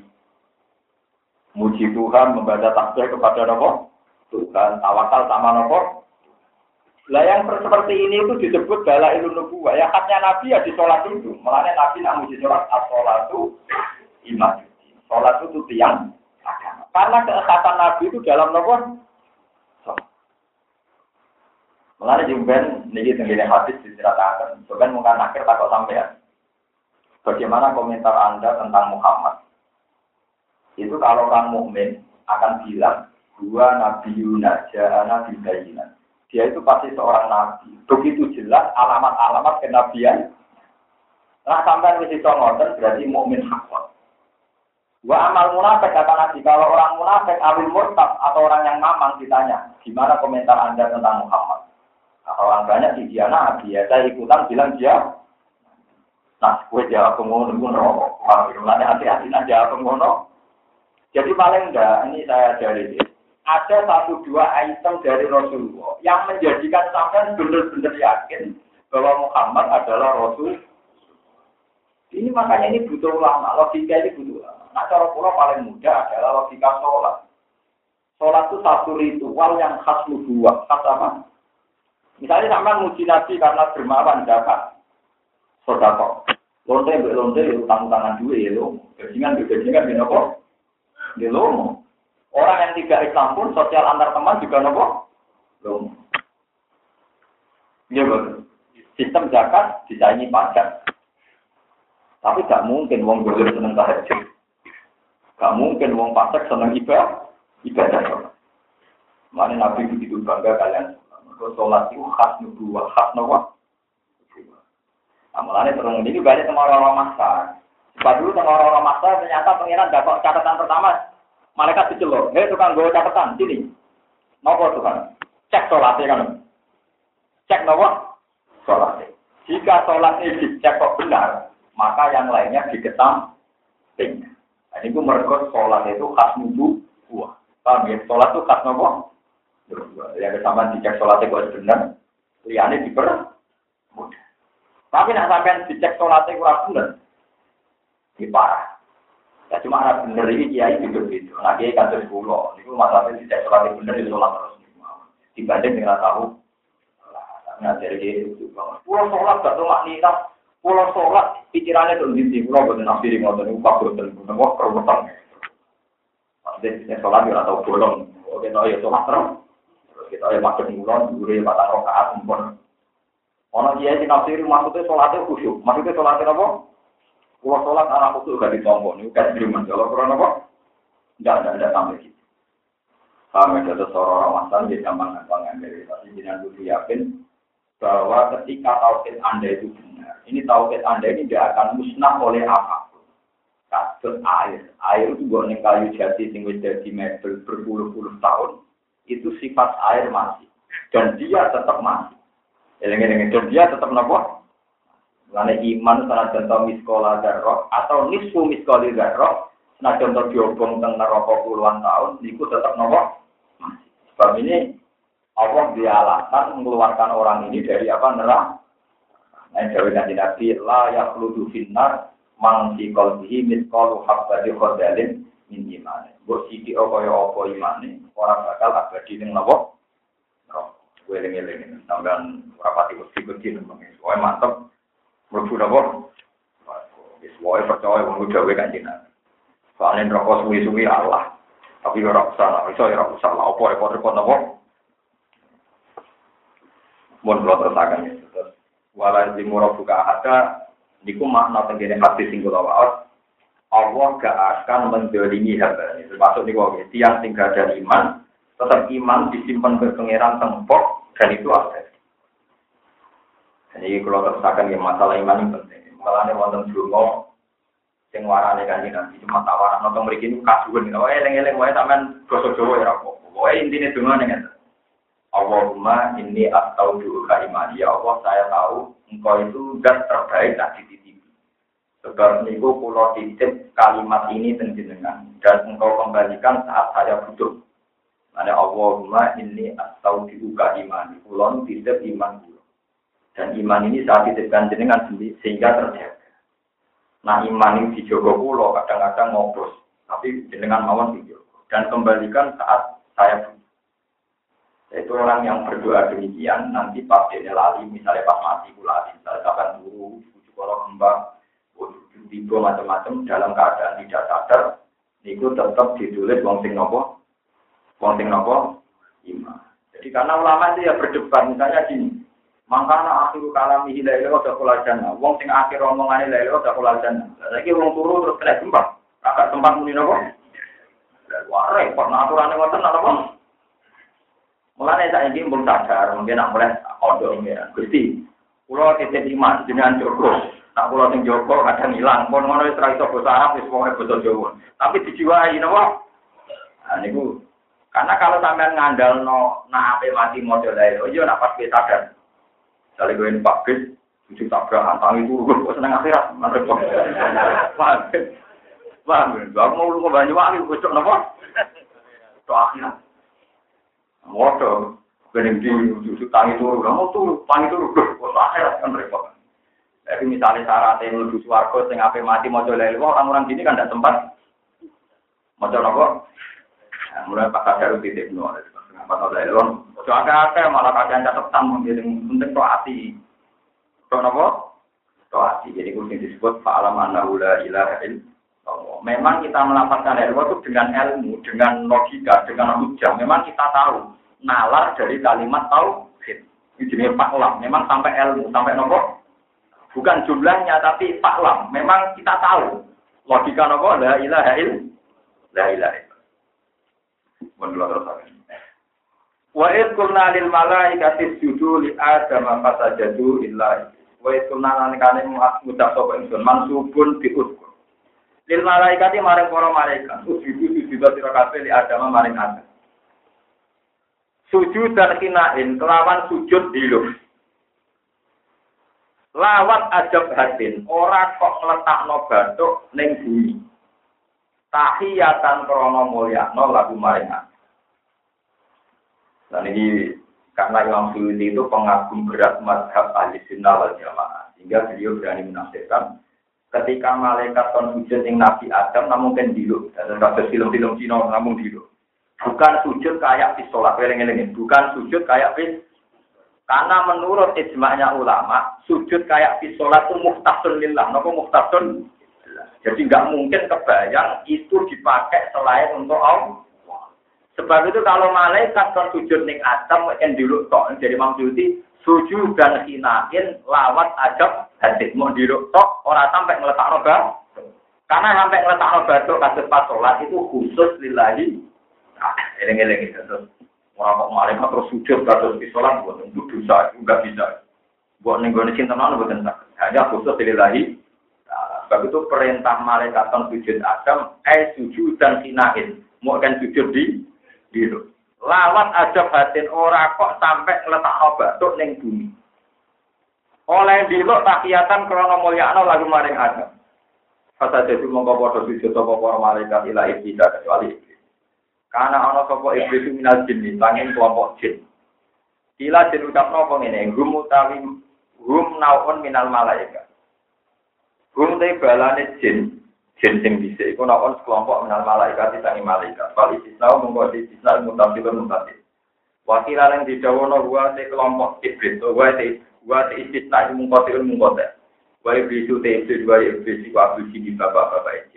Muji Tuhan, membaca tasbih kepada nomor Tuhan, tawakal sama nomor. Lah yang seperti ini itu disebut dalailun nubuwah. Ya haknya Nabi ya di sholat itu. Makanya Nabi nak muji sholat, as-sholatu iman. Sholat itu tiang agama. Karena keekatan Nabi itu dalam nomor sholat. Makanya jumben ini tenggine hadis diceritakan. Jumben mungkin akhir takut sampean. Bagaimana komentar Anda tentang Muhammad? Itu kalau orang mukmin akan bilang dua nabi Yunajana bibayinan. Dia itu pasti seorang nabi. Begitu jelas alamat-alamat kenabian. Nah sampai di situ ngoten berarti mukmin hakon. Wa amal munafik kata Nabi, kalau orang munafik awil murtad atau orang yang mamang ditanya, gimana komentar Anda tentang Muhammad? Nah, orang banyak di dia nabi, ya saya ikutan bilang dia. Nah, gue jawab pengono ngono. Kalau hati-hati aja pengono. Jadi paling enggak, ini saya dari ada 1-2 item dari Rasulullah yang menjadikan sampai benar-benar yakin bahwa Muhammad adalah Rasul. Ini makanya ini butuh ulama, logika ini butuh ulama. Nah, cara pula paling mudah adalah logika sholat. Sholat itu satu ritual yang khas nubuwah, khas apa? Misalnya sama muji Nabi karena dermawan zakat, sedekah. Lonte, utang-utangan duit ya lo, bajingan, gini apa? Di lomo. Orang yang tidak Islam pun sosial antar teman juga nopo lomo. Iya betul. Sistem zakat disaingi pajak. Tapi gak mungkin wong dolim seneng tahajud. Gak mungkin wong fasik seneng ibadah. Mana Nabi begitu bangga kalian. Sholat itu khas nubuwah, khas nawa. Amalannya terus ini banyak orang-orang masa. Sebab dulu orang-orang masa ternyata pengiran dapat catatan pertama. Malaikat diceluk, tukang gue catatan, sini. Nopo Tuhan? Cek sholatnya kan. Cek nopo? Sholatnya. Jika sholatnya dicek kok benar, maka yang lainnya dikesamping. Nah, ini mereka sholat itu khas nubuwah. Paham ya? Sholat itu khas nopo? Yang kesamaan dicek sholatnya kok benar, liane dipermudah. Tapi nak sampean dicek sholatnya kurang benar, ini parah. Ya cuma anak benar ini kiai gitu. Nah kiai kan terus pulau, itu masalahnya dicek sholatnya benar di sholat terus. Dibanding dengan tahu, nah dari dia itu banget. Pulau sholat gak tuh maknina, pulau sholat pikirannya tuh di pulau bukan nafsi ngotot, upah bukan wah kerumutan. Maksudnya sholat dia atau bolong, oke no ya sholat terus. Kita ya makin mulon, dulu ya batang rokaat, mumpun. Orang dia di nafsiri maksudnya sholatnya khusyuk. Maksudnya sholatnya apa? Kalau sholat anak khusyuk gak ditombol. Ini kan diriman. Kalau kurang apa? Enggak sampai gitu. Kami ada seorang masan, dia gampang ngambil. Tapi jangan dulu yakin bahwa ketika tauhid Anda itu benar. Ini tauhid Anda ini tidak akan musnah oleh apapun. Kasus air. Air itu bukan kayu jati yang jadi mebel berpuluh-puluh tahun. Itu sifat air masih. Dan dia tetap masih. Dan dia tetap nopo. Karena iman sana contoh miskola darroh atau nisfu miskoli darroh. Nah contoh diobong tentang neraka puluhan tahun. Itu tetap nopo. Masih. Sebab ini Allah dialasan mengeluarkan orang ini dari apa neraka. Nah jawab nanti Nabi la yakhludu finnar mangsi qalbihi miskolu habbati khardalin min imane. Mbok sithik kaya-apa imane ora bakal abadi ning napa? Neraka. Kowe eling-eling sampean ora pati wedi-wedi nang wae mantep. Mlebu napa? Wis wae percaya wong dhewe kanjeng. Soale neraka suwi-suwi Allah. Tapi ora usah, iso ora usah apa repot-repot napa? Mun kula terusaken terus wala dimura buka ada niku makna tengene hadis sing kula waos. Allah gak akan mendolimi hamba. Termasuk nih wong tiang tinggal dan iman, tetap iman disimpan ke pangeran tempok dan itu ada. Jadi kalau tersakan yang masalah iman ini penting. Malahnya wonten dungo, sing warane kanjeng Nabi cuma tawaran nonton mriki niku kasuwen. Oh eleng-eleng wae sampean basa Jawa ya apa. Wae intine dungo ning Allahumma inni astauduka imani. Ya Allah saya tahu engkau itu zat terbaik tak dititipi. Sebab niku kula titip kalimat ini tenjenengan dan engkau kembalikan saat saya butuh. Ada Allahumma inni astauduka imani. Kula titip iman kula. Dan iman ini saat titipkan jenengan sehingga terjaga. Nah iman ini dijogo kula kadang-kadang ngopros, tapi jenengan mawon dijogo dan kembalikan saat saya butuh. Itu orang yang berdoa demikian nanti pas dia lali, misalnya pas mati kula misalnya kapan guru, bujuk kalau kembang, tiba macam-macam dalam keadaan tidak sadar, itu tetap ditulis wong sing nopo iman. Jadi karena ulama itu ya berdebat misalnya gini, mangkana akhiru kalami la ilaha illa jannah, wong sing akhir omongane la ilaha illa jannah. Saiki wong turu terus kena gempa, kakak tempat muni nopo? Wah repot aturane ngoten napa? Mulane saiki mbok sadar, mungkin nak mulai odo iki. Gusti, kula titip iman jenengan Joko. Tak kula sing Joko kadang ilang, pun ngono wis ra iso basa Arab wis pokoke basa Jawa. Tapi dijiwai napa? Nah niku karena kalau sampean ngandalno nak ape mati model ae, yo nak pas sadar. Sale goen pakis, cucu tabrakan tangi turu kok seneng akhirat, repot. Paham, aku mau lu Banyuwangi kok napa? Tok akhirat. Motor, bening di susu tangi turu, mau turu, tangi turu, kok akhirat kan repot. Jadi misalnya syaratnya menuju swarga, sing ape mati mau lele, orang-orang sini kan tidak sempat mau nopo. Mulai pakai jarum titik nol, apa lele, mau agak malah kalian catatan mungkin penting to hati, to nopo, to hati. Jadi kuncinya disebut fa'alam annahu la ilaha illallah. Memang kita melafazkan ilmu itu dengan ilmu, dengan logika, dengan hujah. Memang kita tahu nalar dari kalimat tauhid. Ini jenis faklam. Memang sampai ilmu, sampai nopo. Bukan jumlahnya tapi faklam. Memang kita tahu. Logika apa? La ilaha illallah. Menurut terus. Wa id qulna lil malaikati isjudu li adama fasajadu illa wa id qulna lan kane ngucap sapa ingsun mansubun diuskur. Lil malaikati maring para malaikat isjudu sira kabeh li adama maring Adam. Sujud dan kinain kelawan sujud diluk. Lawat ajab hatin, ora kok ngletakno bathuk ning bumi. Tahiyatan krana mulyakno lagu maring. Dan ini karena Imam Suyuti itu pengagum berat mazhab ahli sunnah wal jamaah, sehingga beliau berani menafsirkan ketika malaikat kon sujud ning Nabi Adam namun kan diluk, dan kados film-film Cina namun diluk. Bukan sujud kayak di sholat, bukan sujud kayak di. Karena menurut ijma'nya ulama, sujud kayak di sholat itu muhtasun lillah. Napa muhtasun? Jadi nggak mungkin kebayang itu dipakai selain untuk Allah. Sebab itu kalau malaikat kan sujud ning Adam kan diluk tok. Jadi maksudnya sujud dan hinain lawat ajab hadis mau diluk tok ora sampai ngletakno bab. Karena sampai ngletakno batu kados pas sholat itu khusus lillahi. Eleng-eleng itu. Orang kok malaikat terus sujud terus di sholat buat untuk dosa enggak bisa. Buat nenggone cinta nang boten sak. Hanya khusus lillahi. Sebab itu perintah malaikat kan sujud Adam, sujud dan hinain. Mau kan sujud di biru. Lawat ajab batin ora kok sampai ngletakno bathuk ning bumi. Oleh diluk tahiyatan krana mulyakno lagu maring Adam. Fasa dadi mongko padha sujud apa para malaikat ila iblis kecuali iblis. Karena ana sapa iblis minal jin, sanging kelompok jin. Kila jin ucapno apa ngene, hum utawi hum naun minal malaikat. Hum te balane jin sing dhisik iku naun kelompok minal malaikat disangi malaikat. Wal istisna mongko istisna mutasilun mutasil. Wakilan yang didawono wa te kelompok iblis, wa te istisna mongko tilun mongko te. Wa iblis te iblis iku abdi di bapak-bapak jin.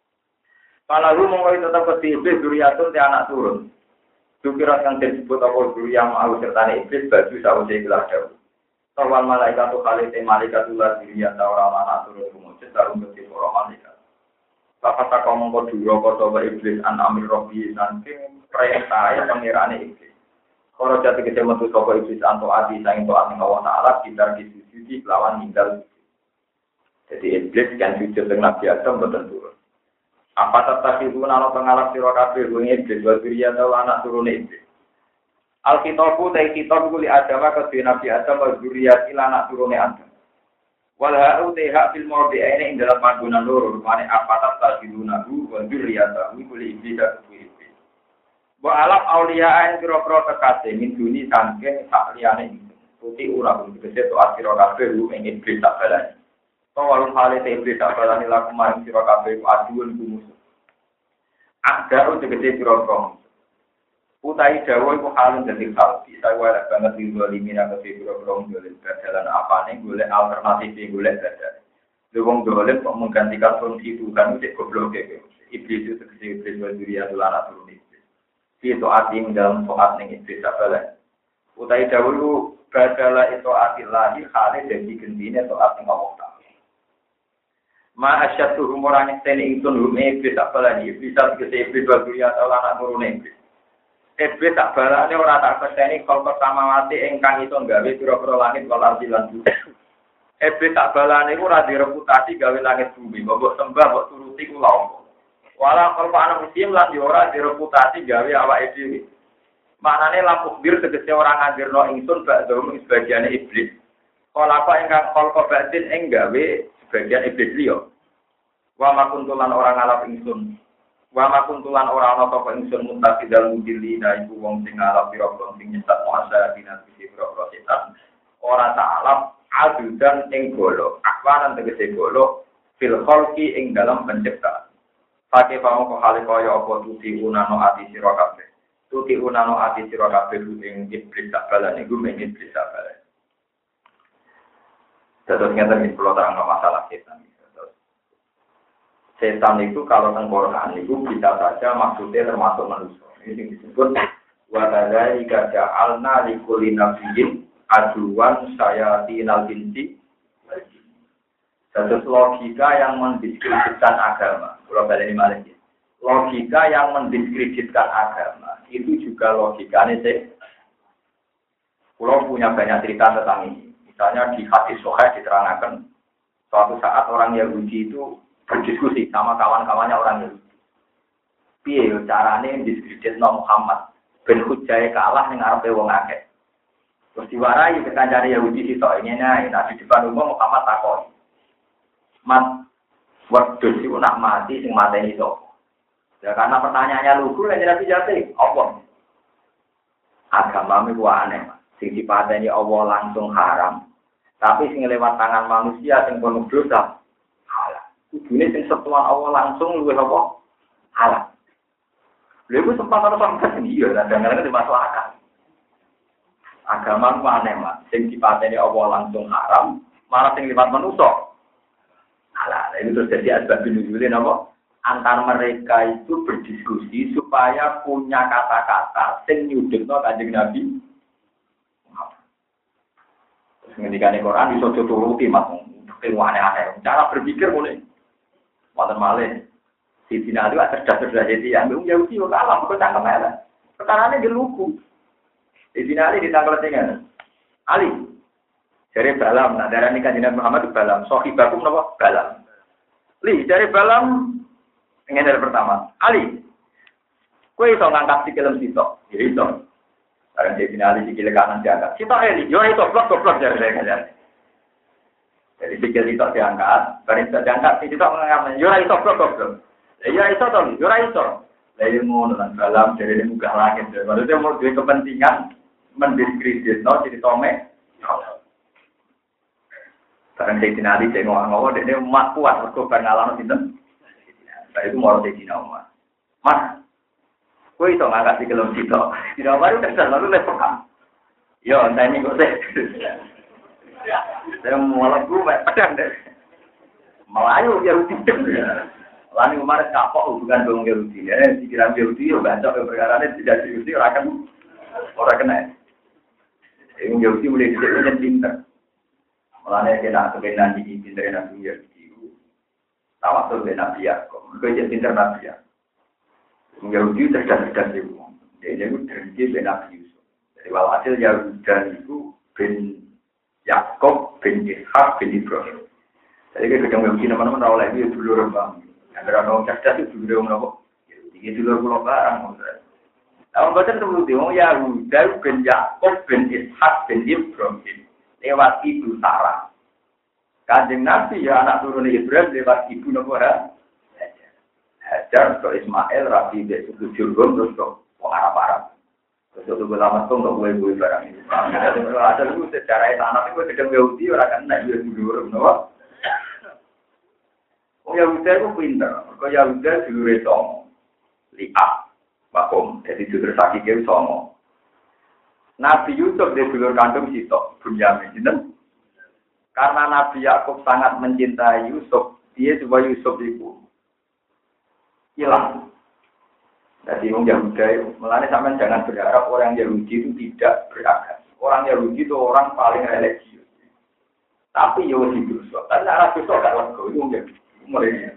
Kalau mongko tetap ke iblis duriyatun te anak turun. Dukirat yang disebut apa duriyam au sertane iblis baju sawise ikhlas dawuh. Tawal malaikat tu kali te malaikat ulah duriyat ora anak turun kumujud darum beti para malaikat. Bapak tak mongko duro kota iblis an amir rabbi saking perintah pengirane iblis. Kalau jati kete metu sapa iblis anto ati saking doa ning Allah taala kita disujudi lawan ninggal. Jadi iblis kan sujud dengan Nabi Adam boten turun. Apa tetap ibu nano pengalap siro kabeh bunyi iblis wabiria atau anak turun iblis. Alkitabu tay kitab kuli adama kedua Nabi Adam wabiria ila anak turun Adam. Walhau tay hak fil mawdi ini ing dalam panggonan loro rupane apa tetap ibu nabu wabiria tahu kuli iblis dan iblis. Wa alap auliya yang kira-kira kekasih min duni sangking tak liyane putih urang tegese to asiro kabeh ing iblis tak balani. Walum hale te iblis tak balani laku maring sira kabeh aduun musuh. Ada untuk gede sira-sira. Utai dawa iku halun dadi hal bisa wae banget linggo limina ke sira-sira golek dalan apane golek alternatif golek dalan. Wong golek kok menggantikan fungsi Tuhan itu goblok e. Iblis itu tegese iblis waduria tulana turun iblis. Itu ating dalam soat ning iblis tak balani. Utai dawa iku badala itu atillahi hale dadi gendine soat ning Allah. Ma asyatu humorane tene ingsun hume iblis tak balani bisa tegese iblis waduria Allah anak turune iblis. Iblis tak balane ora tak peseni kal pertama mati ingkang iso gawe pira-pira langit wal ardi lan bumi. Iblis tak balane ora direputasi gawe langit bumi, mbok sembah mbok turuti ku lha opo. Wala kal ana muslim lan ora direputasi gawe awake dhewe. Maknane lampu bir tegese ora ngajirno ingsun bak dhewe sebagian iblis. Kala apa ingkang kal batin ing gawe bagian iblis liya. Wa makuntulan orang ngalap ingsun. Wa makuntulan orang ana sapa ingsun mutaqidal mudillina iku wong sing ngalap pira-pira sing nyesat muasa dinas pira-pira setan. Ora ta'alap adudan ing golo. Akwanan tegese golo fil khalqi ing dalam penciptaan. Pake pamoko hale kaya apa tuti unano ati sira kabeh. Tuti unano ati sira kabeh ing iblis tak balane iku men iblis tak balane. Terus ngeten kula terang masalah setan. Setan itu kalau tengkorak itu bisa saja maksudnya termasuk manusia. Ini disebut wadadai gaja'alna likulli nabiyyin aduwan sayatinal binti. Terus logika yang mendiskreditkan agama. Kalau balik ini logika yang mendiskreditkan agama itu juga logikanya sih. Kalau punya banyak cerita tentang ini. Misalnya di hadis Sahih diterangkan suatu saat orang Yahudi itu berdiskusi sama kawan-kawannya orang Yahudi. Piye carane diskreditno Muhammad ben hujjahe kalah ning ngarepe wong akeh. Terus diwarai ke kancane Yahudi sitok ngene di depan umum Muhammad takon. Mat, waktu itu nak mati, sing mateni sapa? Ya karena pertanyaannya lugu, yang jadi jati, apa? Agama itu aneh, sing dipateni Allah langsung haram. Tapi sing lewat tangan manusia, sing penuh dosa, halal. Ini sing sentuhan Allah langsung, luwih apa? Halal. Lalu sempat orang sendiri, ya, dan kadang-kadang dimasalahkan. Agama itu aneh, sing dipateni Allah langsung haram, malah sing lewat manusia. Alah, itu terus jadi asbab nuzulin apa? Antar mereka itu berdiskusi supaya punya kata-kata sing nyudutno Kanjeng Nabi. Terus ngendikane Quran iso turuti Mas, aneh-aneh. Cara berpikir mulai wonten malih. Siti Nabi cerdas-cerdas jadi yang Yahudi kok kalah kok cangkem elek. Perkarane ge lugu. Siti Nabi ditangkal dengan Ali. Dari Balam, nah darah nikah Nabi Muhammad itu Balam. Sohibakum nama Balam. Li, dari Balam, ini dari pertama. Ali, kue iso ngangkat sikilem sitok. Ya iso. Sekarang dia bina Ali sikil kanan diangkat. Sitok Eli, yo iso, blok dari saya. Jadi sikil sitok diangkat. Barang sitok diangkat, sitok mengangkat. Yo iso, blok. Ya iso toh, yo iso. Lalu ngono lan Balam dari muka langit. Maksudnya mau duwe kepentingan mendiskreditno jadi tomek. Sekarang saya dinali, saya ngomong-ngomong, dia emak kuat, mereka berngalaman sinten. Nah itu mau saya dinali, Mas, gue itu nggak kasih kelom sitok. Tidak baru terus lalu lepas. Yo, saya ini kok saya malah gue pedang deh. Melayu Yahudi. Lalu kemarin kapok hubungan dengan Yahudi. Ya, pikiran Yahudi, ya bancok perkara ini tidak Yahudi, orang kena. Yang Yahudi mulai tidak pintar. Mulanya kena kebenaran di pintar Nabi Yahudi. Tawasul dengan Nabi Yaakub. Mereka jadi pintar Nabi Yaakub. Yahudi cerdas-cerdas itu. Dia itu terhenti dengan Nabi Yusuf. Jadi walhasil Yahuda itu bin Yaakub, bin Ishak, bin Ibrahim. Jadi kadang Yahudi nama-nama tahu lagi itu dulu orang. Yang orang cerdas itu dulu orang apa? Yahudi dulu pulau barang. Tahun baca sebelum itu Yahuda bin Yaakub, bin Ishak, bin Ibrahim. Lewat ibu Sarah. Kanjeng Nabi ya anak turun Ibrahim lewat ibu Nabi Hajar ke Ismail, Rabi, Besuku Jurgum, terus ke Arab-Arab. Terus ke lama tuh untuk gue barang ini. Ada dulu secara anak itu sedang Yahudi orang kan naik dulu Nabi. Oh Yahudi itu pintar. Kalau Yahudi dulu retong lihat, bakom. Jadi dulu sakit itu songo. Nabi Yusuf dia dulur kandung Sitok, Bunyamin, gitu. Karena Nabi Yakub sangat mencintai Yusuf, dia coba Yusuf itu hilang. Jadi orang Yahudi, melani sampai jangan berharap orang Yahudi itu tidak beragam. Orang Yahudi itu orang paling religius. Tapi Yahudi Yusuf, tapi arah Yusuf gak lego itu mulai.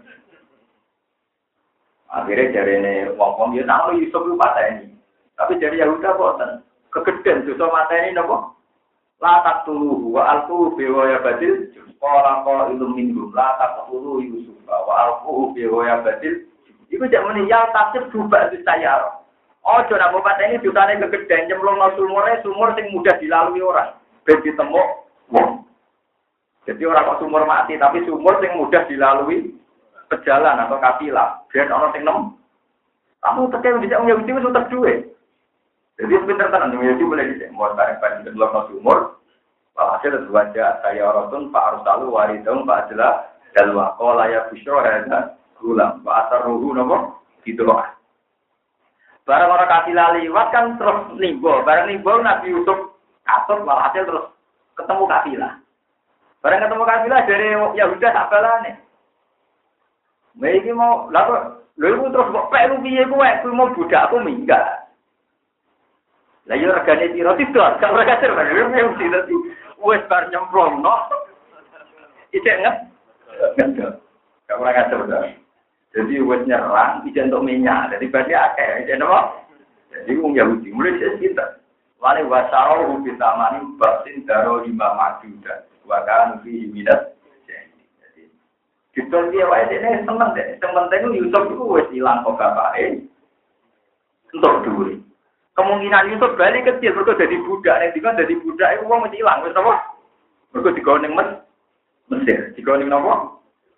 Akhirnya dari ini wong dia tahu Yusuf itu patah ini. Tapi dari Yahudi bosan. Kegedean dosa mata ini nopo latak tuluhu wa alquhu biwaya badil qala qailum minhum latak tuluhu Yusuf wa alquhu biwaya badil iku jak meninggal tafsir berubah saya ojo nak mata ini dosane kegedean nyemplungno sumur sing mudah dilalui orang ben ditemuk wong jadi orang kok sumur mati tapi sumur sing mudah dilalui pejalan atau kafilah biar ana sing nem kamu tekeh bisa Yahudi wis utek duwe. Jadi sebentar tenan Yahudi boleh dicek. Mau tarik pada belakang sumur. Hasil wajah saya Rasul Pak Arsalu waridung Pak Adla dalwa qala ya busyra hadza gulam wa asarruhu napa didoa. Barang ora kasih liwat kan terus nimbo. Barang nimbo Nabi Yusuf katut hasil terus ketemu kafilah. Barang ketemu kafilah dari Yahuda sak balane. Iki mau lha terus kok pek piye kowe mau budakku minggat. Lah yo regane piro tidak, kalau regane piro mesti dadi wis bar nyemplung no. Ijek nget Enggak kurang ajar udah. Jadi wes nyerang, tidak untuk minyak. Jadi berarti akeh, jadi apa? Jadi orang Yahudi mulai sekitar. Wali wasaro kita mani batin daro 5 majudan. Wakan fi minat. Jadi kita dia wae ini seneng deh. Sementing Yusuf itu wes hilang kok bapake. Untuk duit. Kemungkinan Yusuf balik kecil mergo jadi budak. Nek dikon jadi budak iku wong mesti hilang wis apa? Mergo digawe ning Mesir. Digawe ning napa?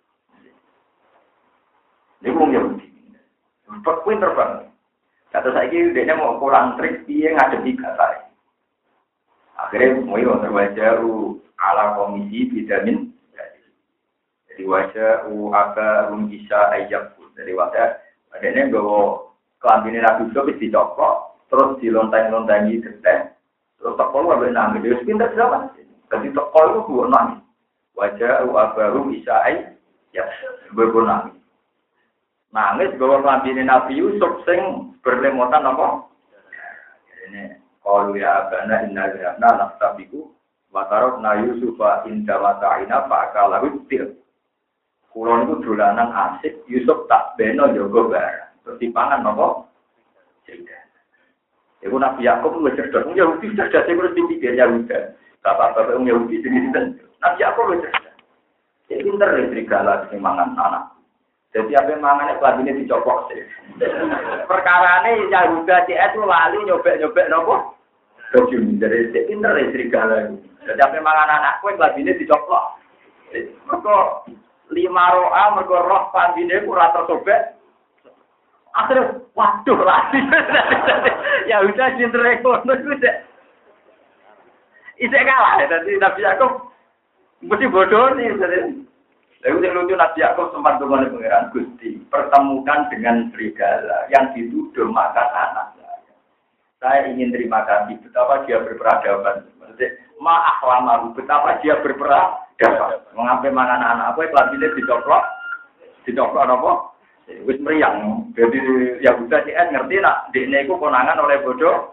Ini wong Yahudi. Pinter banget. Kata saya dia mau kurang trik dia ngadepi kata. Akhirnya mau terwajah ala komisi vitamin. Jadi wajah apa bisa ajak. Jadi wajah adanya bawa kelambine Nabi Yusuf dicokok, terus dilontang-lontangi geteh. Terus tokol ambil nangis. Dia pintar siapa? Jadi tokol itu buat nangis. Wajah apa bisa ajak. Berbunyi. Nangis bawa kelambine Nabi Yusuf sing berlemotan apa? Ini qalu ya abana inna lillahi nafsabiku wa tarakna Yusufa inda wata'ina fa'akalahu til. Kulon itu dolanan asik, Yusuf tak beno jogo barang. Terus dipangan apa? Cerdas. Iku Nabi Yakub wis cerdas. Wong Yahudi cerdas terus dipikir Yahuda. Bapak-bapak wong Yahudi sini Nabi Yakub wis cerdas. Dia pinter serigala sing mangan anak. Jadi apa yang mangannya kelabinnya dicopok sih. Perkarane Yahuda CS itu lali nyobek-nyobek nopo. Kejun. Jadi pinter ya serigala. Jadi apa yang mangan anakku yang kelabinnya dicopok. Mereka 5 roa, mereka roh kelabinnya kurang tersobek. Akhirnya, waduh lali. Yahuda pinter ekonomi itu deh. Isek kalah. Jadi Nabi Yakub mesti bodoh nih. Lalu yang lucu Nabi Yakub sempat dengan pangeran Gusti pertemukan dengan serigala yang dituduh makan anak saya ingin terima kasih betapa dia berperadaban. Maksudnya ma'ahlamahu betapa dia berperadaban. Mengambil makan anak apa kelabinnya dicoplok apa? Wis meriang. Jadi Yahuda CS ngerti nak dekne iku konangan oleh bodoh.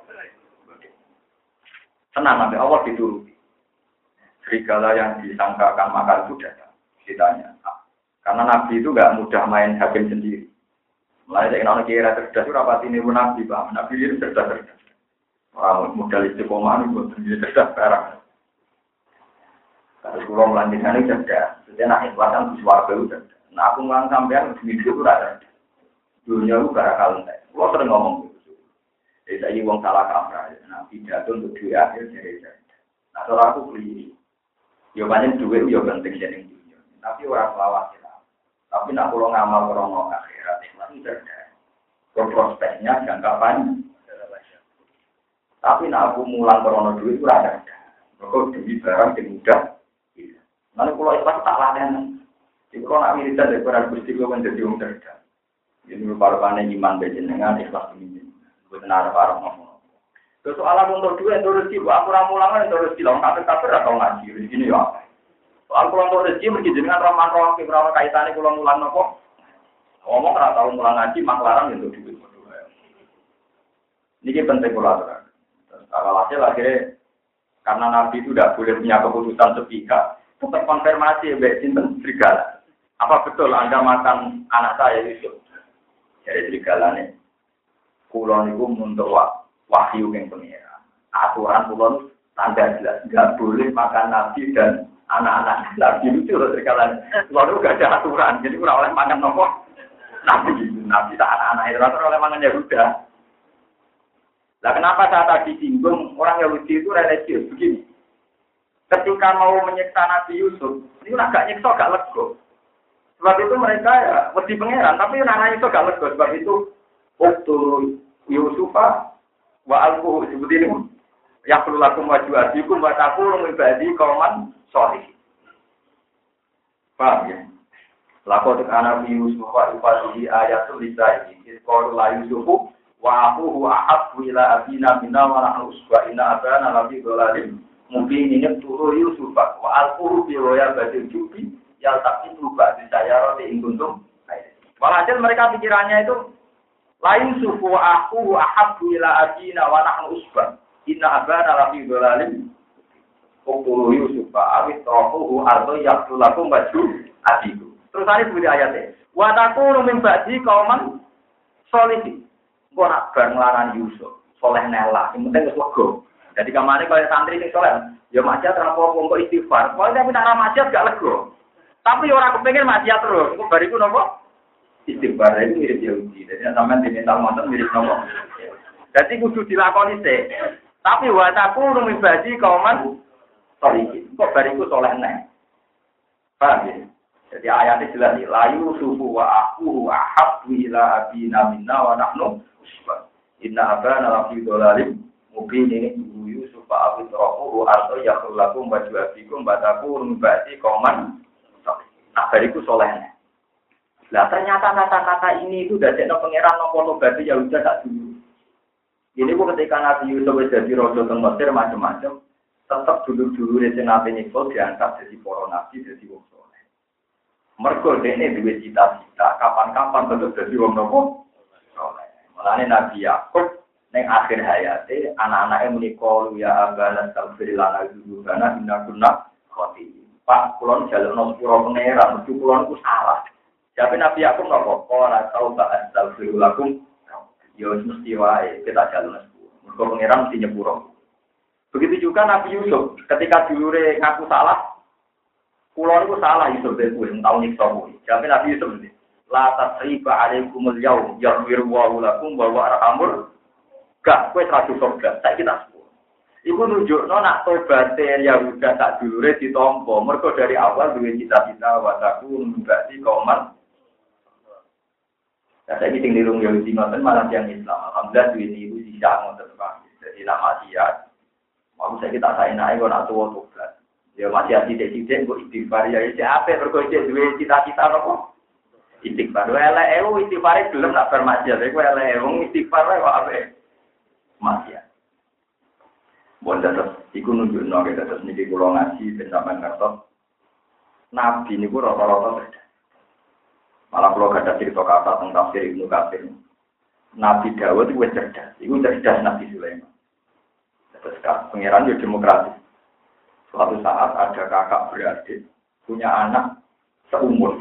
Tenang nanti Allah dituruti. Serigala yang disangkakan makan itu datang. Ditanya. Karena Nabi itu nggak mudah main hakim sendiri. Mulai dari orang kira cerdas itu rapat ini pun Nabi, Pak. Nabi itu cerdas. Orang modal istiqomah itu sendiri cerdas sekarang. Kalau pulau melanjutkan ini cerdas. Jadi nak ikhlasan di suarga itu cerdas. Nah aku ngulang sampean di video itu ada. Dunia itu barakal entek. Pulau sering ngomong gitu. Jadi saya uang salah kaprah. Nah pidato untuk dua akhir jadi cerdas. Nah kalau aku beli, jawabannya dua itu penting jadi. Tapi orang selawat ya. Tapi nak pulang ngamal krono akhirat itu cerdas. Prospeknya jangka panjang. Tapi nak aku mulang krono duit itu ada. Kok demi barang yang mudah. Nanti pulau ikhlas tak laden. Jadi kalau nak militer dari para gusti gue menjadi orang cerdas. Jadi para iman bejenengan ikhlas ini. Bukan ada para ngomong. Soalan untuk duit itu rezeki. Aku ramulangan itu rezeki. Lawan kafir atau ngaji rezeki ya. Soal pulang ke rezeki mesti dengan roman-roman kira-kira kaitannya pulang mulang nopo. Ngomong ora tau mulang ngaji maklarang untuk duit. Ini penting kulatur. Kalau hasil akhirnya karena Nabi itu tidak boleh punya keputusan sepihak, tetap konfirmasi mbek sinten serigala. Apa betul Anda makan anak saya Yusuf? Jadi serigala nih. Kula niku untuk wahyu yang pengira. Aturan kula tanda jelas nggak boleh makan Nabi dan anak-anak Nabi itu loh serigala. Lalu gak ada aturan, jadi kurang oleh makan nopo Nabi tak anak-anak itu oleh makan Yahuda. Nah kenapa saya tadi singgung orang Yahudi itu religius begini? Ketika mau menyiksa Nabi Yusuf, ini agak nyiksa gak lego. Sebab itu mereka ya wedi pangeran, tapi anak itu gak lego. Sebab itu waktu Yusufa wa alquhu seperti ini. Ya perlu lakum wajuadikum wa taqulu ibadi qauman sholihin. Paham ya? Lakot kana fi Yusuf wa ibadihi ayatul lisai. Qalu la Yusufu wa aquhu ahabbu ila abina minna wa nahnu usba'ina abana labi dolalim. Mungkin ini turu Yusuf wa alquhu bi roya badil jubi yal taqitu ba'di sayarati in kuntum. Walhasil mereka pikirannya itu la Yusuf wa aquhu ahabbu ila abina wa nahnu usba'. Inna abana lafi dolalim. Uktulu Yusuf awit rohuhu ardo yaktulakum baju adiku. Terus ada sebuah ayatnya. Wa takunu min ba'di qauman sholihin. Kok nak bar nglarani Yusuf, soleh nela, yang penting wis lega. Jadi kamane kaya santri sing soleh, ya maksiat ora apa-apa kok istighfar. Kok tapi nak maksiat gak lega. Tapi orang kepengin maksiat terus. Kok bariku napa? Istighfar itu mirip Yahudi. Jadi sampean diminta monten mirip napa? Jadi kudu dilakoni sih. Tapi wa takunu min ba'di qauman sholihin. Kok bariku soleh neh. Paham ya? Jadi ayatnya jelas nih, layu sufu wa aku ahabbu ila abina minna wa nahnu usbah. Inna abana lafi dolalim mubin ini tuhu Yusuf wa abid rohuhu arto yakhulakum baju abikum bataku rumbati koman. Nah, bariku solehnya. Nah, ternyata kata-kata ini itu udah jadi pengeran nopo berarti ya udah tak dulu. Ini bu ketika Nabi Yusuf jadi rojo ke Mesir macam-macam, tetap dulu-dulu dari Nabi Nikol diangkat jadi para nabi, jadi wong soleh. Mergo dene duwe cita-cita kapan-kapan tetep dadi wong nopo soleh. Mulane Nabi Yakub ning akhir hayate anak-anake muni qalu ya abana astaghfir lana dzunubana inna kunna khati. Pak kula njalukno sepura pangeran, mesti kula niku salah. Jabe Nabi Yakub nopo? Ora tau tak astaghfir lakum. Yo mesti wae kita jalukno sepura. Mergo pangeran mesti nyepuro. Begitu juga Nabi Yusuf ketika dulure ngaku salah. Kulo niku salah Yusuf ben kuwi tau nyiksa kuwi. Jabe Nabi Yusuf iki. La tasriba alaikumul yaum yaghfiru wa lakum wa arhamur. Gak kowe ra surga. Saiki tak sepuro. Iku nunjukno nak tobaté Yahuda sak dulure ditampa. Mergo dari awal duwe cita-cita wa takun berarti kauman. Ya saiki sing nirung Yahudi ngoten malah yang Islam. Alhamdulillah duwe niku sisa ngoten Pak. Jadi nama dia. Mau saya kita saenake kok nak tuwa tobat. Ya masih tidak kok istighfar ya siapa berkocek duwe cita-cita apa? Istighfar. Elek istighfar belum nak bermaksiat. Iku elek istighfar kok ape? Maksiat. Bon terus iku nunjukno kita terus niki kula ngaji ben sampean ngertos. Nabi niku rata-rata cerdas. Malah kula gadah cerita kata tentang tafsir Ibnu Katsir. Nabi Dawud iku cerdas. Iku cerdas Nabi Sulaiman. Terus pangeran yo demokratis. Suatu saat ada kakak beradik, punya anak seumur.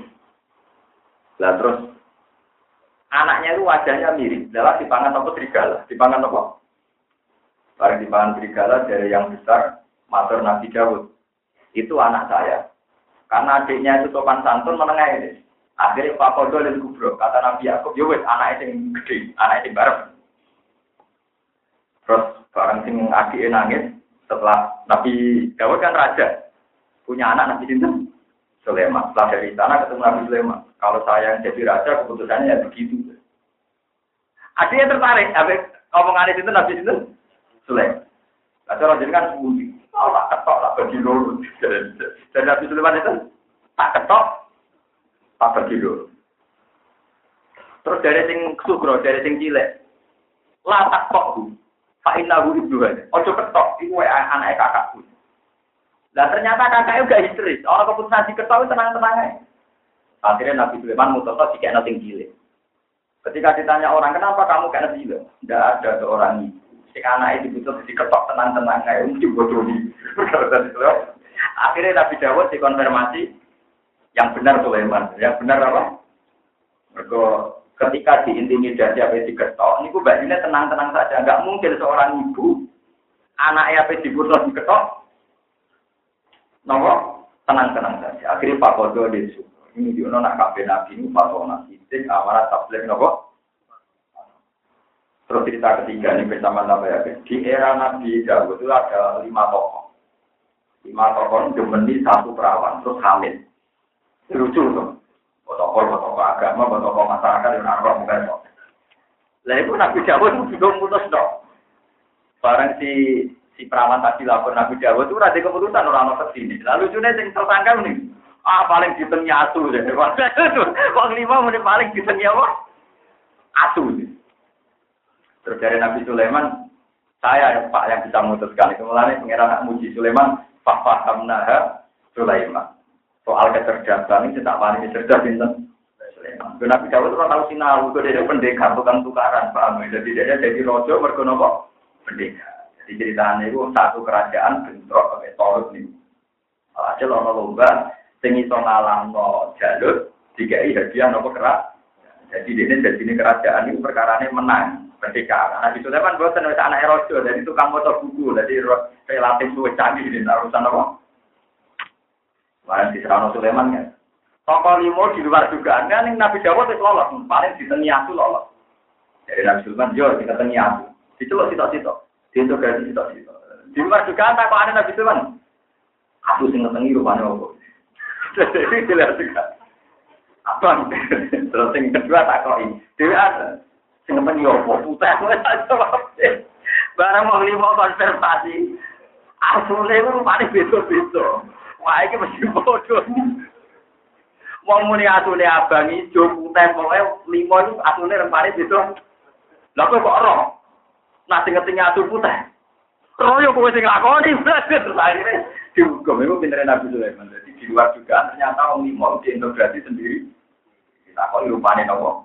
Lah terus anaknya itu wajahnya mirip. Dalam dipangan apa serigala? Dipangan apa? Barang dipangan serigala dari yang besar, matur Nabi Dawud. Itu anak saya. Karena adiknya itu sopan santun menengah ini. Akhirnya Pak Kodo dan Kubro, kata Nabi Yakub, ya wes anak yang gede, anak yang bareng. Terus barang sing adiknya nangis. Setelah Nabi Dawud kan raja, punya anak Nabi Sinten Sulaiman. Setelah dari sana ketemu Nabi Sulaiman. Kalau saya yang jadi raja, keputusannya ya begitu. Adiknya tertarik, omongan itu Nabi Sinten Sulaiman. Lalu orang jadi kan sembunyi. Oh, tak ketok, tak bagi loro. Dan Nabi Sulaiman itu tak ketok, tak bagi loro. Terus dari sing sugro, dari sing cilik, lah tak ketok. Pak Inahu itu aja. Ojo ketok, itu anak kakakku. Dan ternyata kakaknya juga histeris. Orang keputusan diketok itu tenang-tenang aja. Akhirnya Nabi Sulaiman mutuslah jika nanti gile. Ketika ditanya orang kenapa kamu kayak Nabi Sulaiman, tidak ada seorang ibu. Si anak itu diputus diketok tenang-tenang aja. Mesti bodoh nih. Akhirnya Nabi Dawud dikonfirmasi yang benar Sulaiman. Yang benar apa? Mereka ketika diintimidasi apa diketok, ini gue bajunya tenang-tenang saja. Enggak mungkin seorang ibu, anaknya apa dibunuh diketok, nomor tenang-tenang saja. Akhirnya Pak Kodo disuruh. Ini dia nak kabin nabi ini fatona sidik amanat tabligh nopo. Terus cerita ketiga ini bersama Nabi ya. Di era Nabi Dawud itu ada 5 tokoh. 5 tokoh demeni 1 perawan terus hamil. Lucu tuh. Tokoh agama, tokoh masyarakat yang narok bukan kok. Lah itu Nabi Dawud itu juga mutus dong. Barang si perawan tadi lapor Nabi Dawud itu ada keputusan orang mau kesini. Lalu lucunya yang tersangka nih, paling ditengnya asu deh. Wong 5 menit paling ditengnya apa? Asu. Terus dari Nabi Sulaiman, saya Pak yang bisa memutuskan itu mulai pengiran anak muji Sulaiman, fahamnaha Sulaiman. Soal kecerdasan ini tak paling cerdas Sinten Sulaiman. Nabi Dawud ora tahu sinau, itu dia pendekar bukan tukaran, paham? Jadi dia jadi rojo mergo napa? Pendekar. Jadi ceritanya itu satu kerajaan bentrok torut nih. Hasil ono lomba sing iso ngalahno jalur dikai hadiah nopo kerak. Jadi ini kerajaan ini perkarane menang merdeka. Nabi Sulaiman boten wis anake raja, jadi tukang maca buku, jadi relatif luwih canggih di urusan apa? Wah, di Serano Sulaiman kan. Tokoh limo di luar dugaan kan Nabi Dawud wis lolos, paling diteniatu lolos. Jadi Nabi Sulaiman yo diteniatu. Diceluk sitok-sitok. Diintegrasi sitok-sitok. Di luar dugaan tak kok ada Nabi Sulaiman. Aku sing ngetengi rupane opo. Jadi dilihat juga. Abang, terus yang kedua tak kok ini. Dewi ada. Sing ngetengi opo. Putih. Barang mau lima konservasi. Asli itu rupane beda-beda. Wah, ini mesti bodoh. Mau muni asune abang ijo putih pokoknya lima itu asune rupane beda. Lah kok roh? Nah sing ngetengi asu putih. Royo kowe sing lakoni terus akhirnya dihukum itu pintere Nabi Sulaiman. Jadi di luar juga ternyata orang lima diintegrasi sendiri. Kita kok rupane nopo.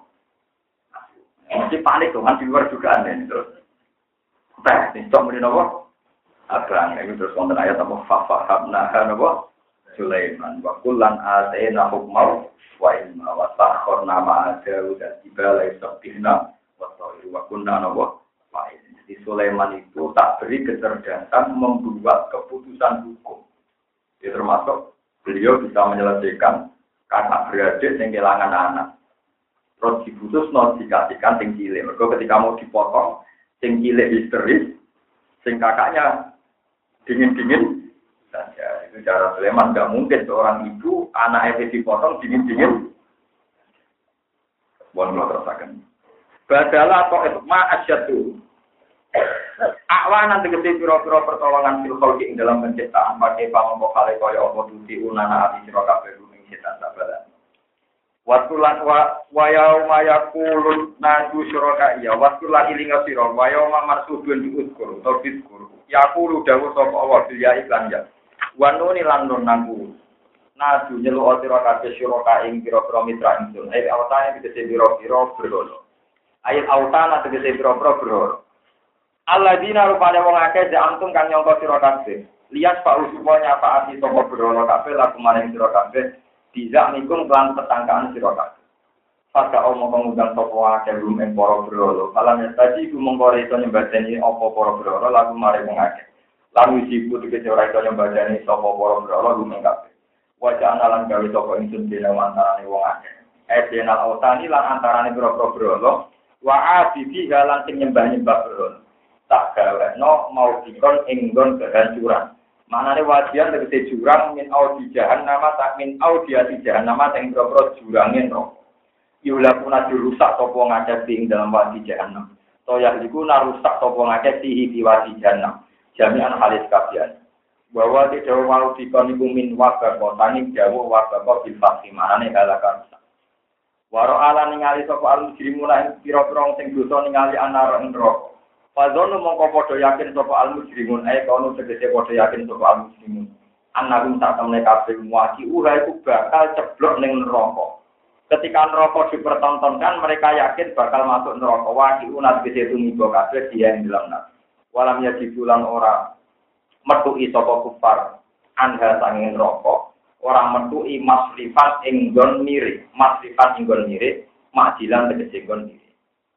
Mesti panik tuh kan di luar juga aneh terus. Teh, ini muni nopo. Abang ini terus wonten ayat apa fafahabna nopo Sulaiman wa kullan atayna hukma wa ilma wa sakharna ma'a Daud al-jibala yusabihna wa tayru wa kunna nopo. Di Sulaiman itu tak beri kecerdasan membuat keputusan hukum. Itu termasuk beliau bisa menyelesaikan kakak beradik yang kehilangan anak. Terus diputus, dikasihkan sing cilik. Mereka ketika mau dipotong, sing cilik histeris, sing kakaknya dingin-dingin saja. Itu cara Sulaiman. Gak mungkin seorang ibu, anaknya dipotong dingin-dingin. Bukan kalau terasakan. Badalah atau itma asyadu. Awanan tegese pira-pira pertolongan fil khalqi ing dalam penciptaan pakai pamongko kale kaya apa tuti unana ati sira kabeh ing setan sabaran. Watulan wa yauma yaqulun naju syuraka ya watulan ilinga sira wa yauma marsubun diuskur to diskur. Yaqulu dawuh sapa Allah bil ya iklan ya. Wa nuni lan nun naku. Naju nyeluk sira kabeh syuraka ing pira-pira mitra ingsun. Ai awtane tegese pira-pira berhala. Ayat awtana tegese pira-pira berhala. Alladzina rupane wong akeh jantung kang nyangka sira kabeh. Lias pak usupane apa ati sapa berhala kabeh laku maring sira kabeh dijak nikum lan tetangkaan sira kabeh. Pada omong pengundang sapa akeh rum ing para berhala. Kalan tadi ku mongko iso nyembadani apa para berhala laku maring wong akeh. Lan wiji kudu kece ora iso nyembadani sapa para berhala rum ing kabeh. Wajah analan gawe sapa ingsun dene antarane wong akeh. Edenal autani lan antarane pira-pira berhala wa abidi halan sing nyembah-nyembah berhala. Tak gaweno mau dikon enggon kehancuran. Manane wajian tegese jurang min audi jahannama tak min audiati jahannama sing pro jurange neraka. Yulakuna dirusak sapa ngakeh ing dalam wadi jahannam. Toya iku narusak sapa ngakeh di wadi jahannam. Jami'an halis kabian. Bahwa tidak mau dikon iku min wabah kotane jauh wabah bil fakhi manane halakan. Waro ala ningali sapa al-mujrimuna ing pira-pira sing dosa ningali anar neraka. Fadzonu mongko padha yakin sapa al-mujrimun kono tegese padha yakin sapa al-mujrimun. Annahum tak temne kabeh muati ora iku bakal ceblok ning neraka. Ketika neraka dipertontonkan mereka yakin bakal masuk neraka. Wati unat tegese tumiba kabeh dia ing dalam neraka. Walam yajibulan ora metuki sapa kufar anha sanging neraka. Ora metuki maslifat ing nggon mirip, maslifat ing nggon mirip, majilan tegese nggon mirip.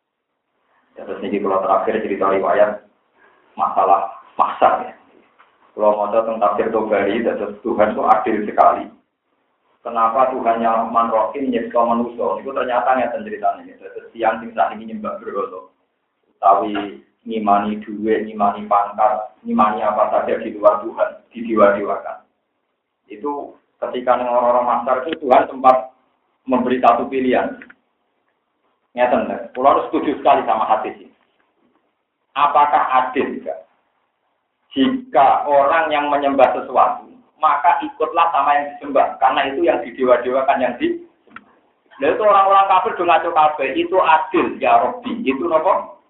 Terus ini kalau terakhir cerita riwayat masalah maksar ya. Kalau mau tentang tafsir Tobari, terus Tuhan itu adil sekali. Kenapa Tuhan yang manrohim nyeksa manusia? Itu ternyata nyata ceritanya. Terus siang saat ini nyembah berhala. Tapi ngimani duit, ngimani pangkat, ngimani apa saja di luar Tuhan, didewa-dewakan. Itu ketika orang-orang maksar itu Tuhan sempat memberi satu pilihan. Nyata, pulau setuju sekali sama hadis ini. Apakah adil juga? Jika orang yang menyembah sesuatu, maka ikutlah sama yang disembah, karena itu yang didewa-dewakan yang disembah. Lalu itu orang-orang kafir do ngaco kabeh, itu adil ya Rabbi, itu nopo?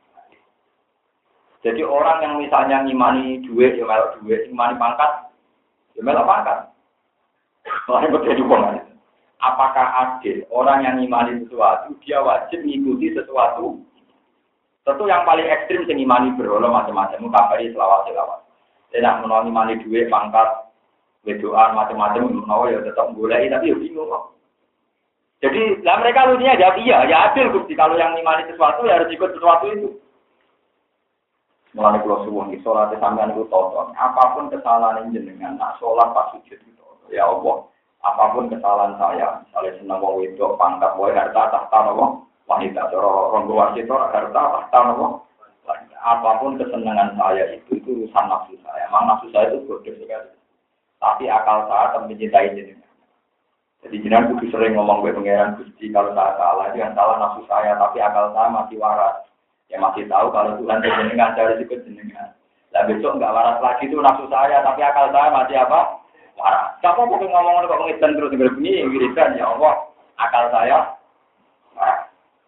Jadi orang yang misalnya ngimani duit, ya melok duit, ngimani pangkat, ya melok pangkat. Soalnya berbeda hubungan. Apakah adil orang yang ngimani sesuatu, dia wajib mengikuti sesuatu? Tentu yang paling ekstrim yang ngimani berhala macam-macam, mukabari selawat-selawat. Tidak menolongi mani duit, pangkat, wedoan, macam-macam, menawa ya tetap boleh, tapi ya bingung kok. Jadi, lah mereka lucunya jawab iya, ya adil Gusti. Kalau yang ngimani sesuatu ya harus ikut sesuatu itu. Mulai kalau suwun di sholat sampean itu tonton, apapun kesalahan jenengan, nak sholat pas sujud itu, ya Allah, apapun kesalahan saya, misalnya senang wong wedok, pangkat, wae harta, tahta, wong wanita, orang wasit, harta, tahta, wong. Apapun kesenangan saya itu urusan nafsu saya. Memang nafsu saya itu bodoh sekali. Tapi akal saya tetap mencintai jenengan. Jadi jenengan kudu sering ngomong ke pangeran Gusti kalau saya salah, jangan salah nafsu saya, tapi akal saya masih waras. Ya masih tahu kalau Tuhan jenengan dari sikut jenengan. Lah besok enggak waras lagi itu nafsu saya, tapi akal saya masih apa? Waras. Siapa mau ngomong kok ngedan terus begini, wiridan ya Allah, akal saya waras.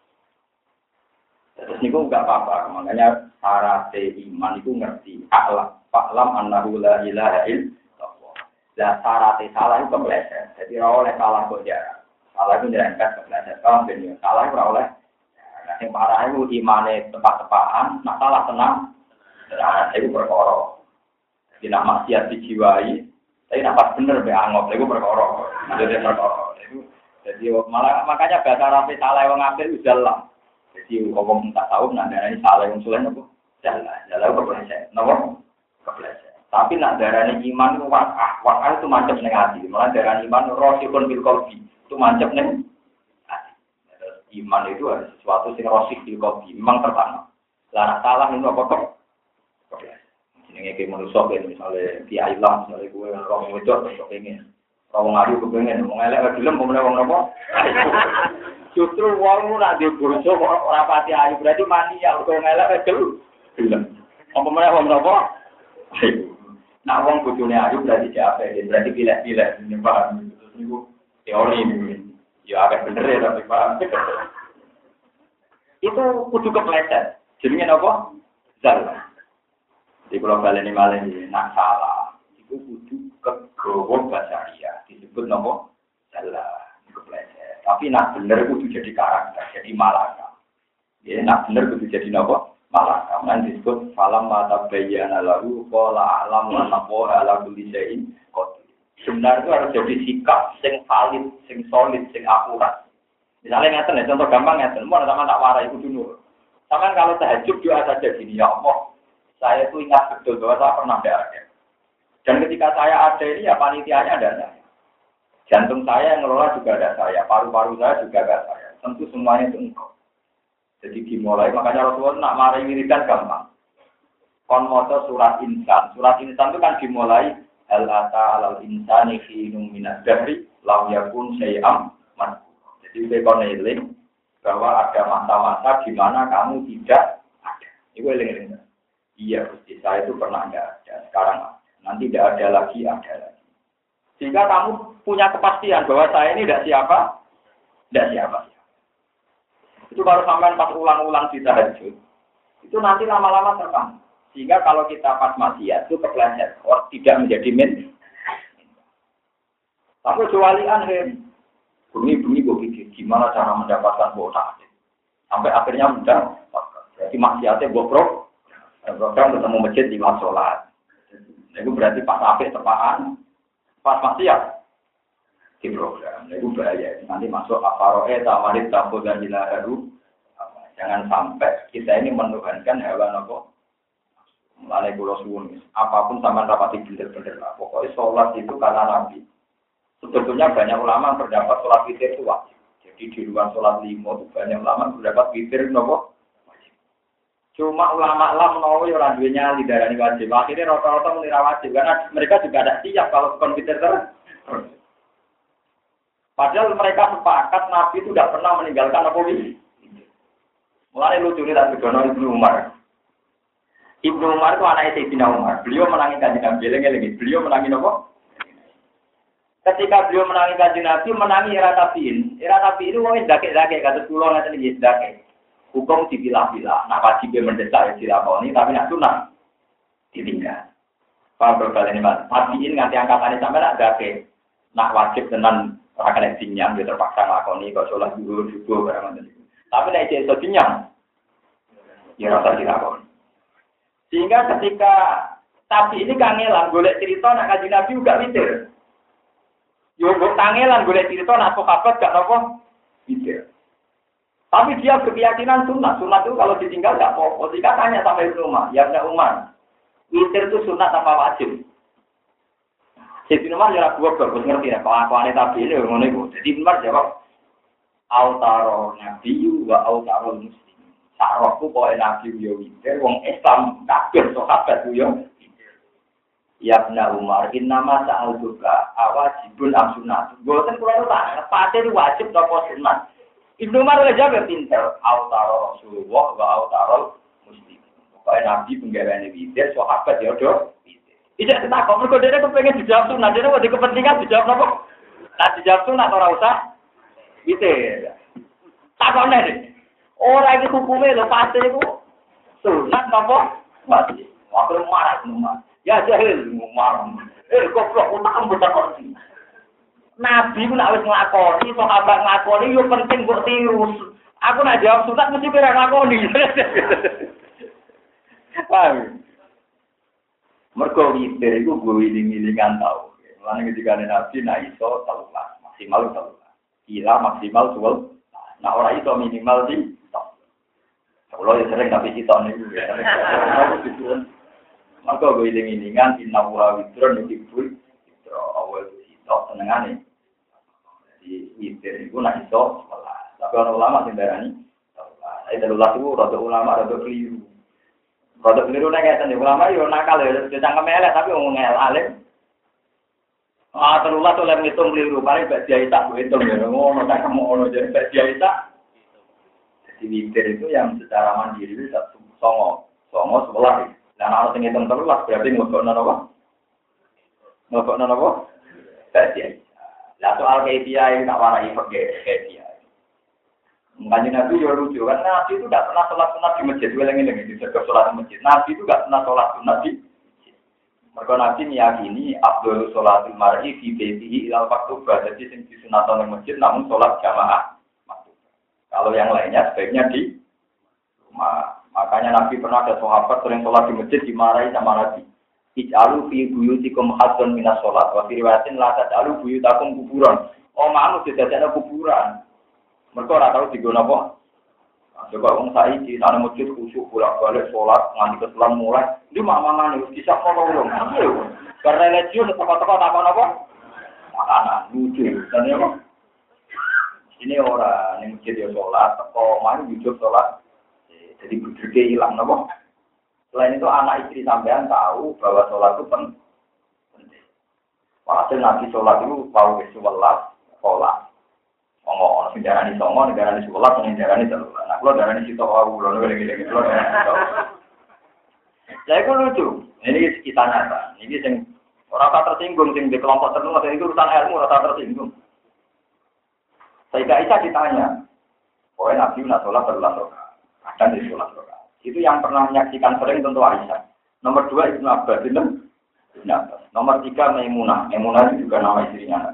Terus niku enggak apa-apa, makanya syarat iman itu ngerti. Fa'lam annahu la ilaha illallah. Lah syarat salah itu kepleset. Jadi ora oleh salah kok jarang. Salah itu nyerempet kepleset. Kalau ben salah ora oleh. Nah, sing parah itu imane tepat-tepatan, nak salah tenang. Nah, itu perkara. Jadi nak maksiat dijiwai, tapi nak pas bener be angop, itu perkara. Jadi perkara. Jadi malah makanya bahasa Arab salah wong apik udah lah. Jadi ngomong tak tahu nak darah ini salah yang sulit apa? Jalan kepleset, nopo kepleset. Tapi nak darah ini iman itu wakah itu mancap neng hati. Malah darah iman rosikun bil qalbi itu mancap neng hati. Iman itu ada sesuatu yang rosik bil qalbi, memang tertanam. Lah salah itu apa kok? Kepleset. Ini kayak manusia kayak misalnya kiai lah, misalnya gue orang itu atau kepengen, orang ngadu kepengen, mau ngelak film, mau ngelak nopo. Justru wong nak di burjo ora pati ayu berarti mania kok ngelak dulu. Film. Apa meneh wong napa? Nah wong bojone ayu berarti capek, berarti pilih-pilih paham terus niku teori niku. Ya agak bener ya tapi paham. Itu kudu kepleset. Jenenge napa? Salah. Di kula baleni malih nak salah. Iku kudu kegowo basaria disebut napa? Salah. Kepleset. Tapi nak bener kudu jadi karakter, jadi malaka. Ya, nak bener kudu jadi napa? Malaka. Nanti disebut falam mata bayyana lahu qala a'lam wa naqwa ala kulli syai'in qadir. Sebenarnya itu harus jadi sikap sing valid, sing solid, sing akurat. Misalnya ngeten ya, contoh gampang ngeten, mau sama tak warai kudu nur. Sama kalau tahajud doa saja gini, ya Allah, saya itu ingat betul bahwa saya pernah ada. Dan ketika saya ada ini ya panitianya ada saya. Jantung saya yang ngelola juga ada saya, paru-paru saya juga ada saya. Tentu semuanya itu engkau. Jadi dimulai, makanya Rasulullah nak mari wiridan gampang. Kon maca surat insan. Surat insan itu kan dimulai hal ata alal insani khinum minad dahri lam yakun syai'am madhkur. Jadi bekon eling bahwa ada masa-masa di mana kamu tidak ada. Itu eling-eling. Iya, Gusti, saya itu pernah ada, sekarang ada. Nanti tidak ada lagi, ada lagi. Sehingga kamu punya kepastian bahwa saya ini tidak siapa. Itu kalau sampai pas ulang-ulang di tahajud, itu nanti lama-lama terbang. Sehingga kalau kita pas maksiat itu kepleset, tidak menjadi min. Tapi kecualian bunyi-bunyi gue pikir gimana cara mendapatkan kuota. Sampai akhirnya mudah. Jadi maksiatnya gue program ketemu masjid di waktu sholat. Itu berarti pas apik tepaan. Pas maksiat di program, itu bahaya. Nanti masuk aparoe, tawarit, tabu dan jilaharu. Jangan sampai kita ini menuhankan hewan apa. Mulai pulau suwun, apapun sama rapati bener-bener lah. Pokoknya sholat itu karena Nabi. Sebetulnya banyak ulama berdapat sholat witir itu wajib. Jadi di luar sholat lima itu banyak ulama berdapat witir nopo. Cuma ulama menawa orang duanya lidarani wajib. Akhirnya rata-rata menira wajib karena mereka juga ada siap kalau komputer terus. Padahal mereka sepakat Nabi itu tidak pernah meninggalkan apa ini. Mulai lucu ini tak begono Ibnu Umar. Ibnu Umar itu anaknya Sayyidina Umar. Beliau menangi kanjeng Nabi. Lengi-lengi. Beliau menangi apa? Ketika beliau menangi kanjeng Nabi, menangi era tabiin. Era tabiin itu wong ndake-ndake kados kula ngaten iki ndake. Hukum dipilah-pilah, nak wajib mendesak ya dilakoni, tapi nak sunah ditinggal. Paham berbalik ini mas, tabiin nganti angkatannya sampai nak dake, nak wajib tenan rakan dinyam, dia terpaksa ngelakoni, kok sholat dulu, barang macam itu. Tapi nak iso dinyam, ya rasa dilakoni. Sehingga ketika Tapi ini kangelan golek cerita nak Kanjeng Nabi juga witir. Yo mbok kangelan golek cerita nak sahabat gak napa witir. Tapi dia berkeyakinan sunat. Sunat itu kalau ditinggal gak apa-apa. Jika tanya sampai Ibnu Umar, ya Ibnu Umar, witir itu sunat apa wajib? Ibnu Umar ya gua bagus ngerti ya kelakuane tabi'in yo ngono iku. Jadi Ibnu Umar jawab autaro nabiyyu wa autaro muslim. Sarokku kok nabi yo witir wong Islam kabeh sahabat yo. Ya Ibnu Umar, innama sa'altuka awajibun am sunnah. Boten kula tak pate wajib apa sunat. Ibnu Umar udah jawab pinter, autaro Rasulullah wa autaro muslim. Pokoke nabi penggaweane witir sahabat ya do. Tidak takut, mereka dia kepengen dijawab sunat, dia ada kepentingan dijawab apa? Nah dijawab sunat orang usah, gitu ya. Takutnya deh, orang itu hukumnya lo pasti itu sunat apa? Pasti, waktu marah. Ya jahil, marah. Goblok, utak kamu bertakut. Nabi pun harus ngelakoni, sahabat ngelakoni, yo penting buat tiru. Aku nak jawab sunat mesti kira ngelakoni. Paham? Mergo witir iku gue wiling-wilingan tau. Lan ketika Nabi nak iso 13, maksimal 13. Gila maksimal 12. Nah ora iso minimal di tok. Kalau ya sering tapi kita niku ya. Mergo gue wiling-wilingan innawa witron dibul witro awal tok senengane. Jadi witir iku nak iso 11. Tapi ana ulama sing darani 13 itu rada ulama rada keliru. Produk keliru nek ngeten ulama yo nakal ya cangkem elek tapi wong alim. Terulah oleh ngitung keliru paling bak dia tak hitung ya ngono tak ngono jadi bak dia tak. Jadi witir itu yang secara mandiri itu songo 11. Dan harus ngitung terulah berarti ngokokno apa? Ngokokno apa? Bak dia. Lah soal kaifiah yang tak warai pakai kaifiah. Kanjeng Nabi yo lucu kan Nabi itu tidak pernah sholat sunat di masjid. Ulang-ulang di jaga sholat di masjid. Nabi itu tidak pernah sholat sunat di masjid. Mereka Nabi meyakini afdhalus sholatil mar'i fi baitihi ilal maktubah. Jadi sing disunatan di masjid namun sholat jamaah maktubah. Kalau yang lainnya sebaiknya di rumah. Makanya Nabi pernah ada sahabat sering sholat di masjid dimarahi sama Nabi. Ij'alu fi buyutikum hazzan minas sholat. Wa fi riwayatin la taj'alu buyutakum kuburan. Oh maanu didadekno kuburan. Mereka ora tahu digono apa. Coba wong saiki sana masjid khusyuk bolak-balik salat nganti keselan mulai. Ndi mamangane wis disap ngono. Karena religius teko-teko takon apa? Makanan lucu. Dan ya kok. Ini ora ning masjid yo salat, teko mari wujud salat. Jadi budrike ilang napa? Selain itu anak istri sampean tahu bahwa salat itu penting. Walhasil nanti salat itu tahu wis 11 salat. Ono sing darani songo, darani 11, sing darani 3. Nah, kula darani sitok wae kula ngene-ngene kula. Lah iku lucu. Ini kita nyata. Ini sing ora tak tersinggung sing di kelompok tertentu atau itu urusan ilmu ora tak tersinggung. Sayyidah Aisyah ditanya, "Pokoknya Nabi nak sholat berulang rakaat." Kadang di sholat rakaat. Itu yang pernah menyaksikan sering tentu Aisyah. Nomor 2 Ibnu Abbas, Nomor 3 Maimunah. Maimunah itu juga nama istrinya.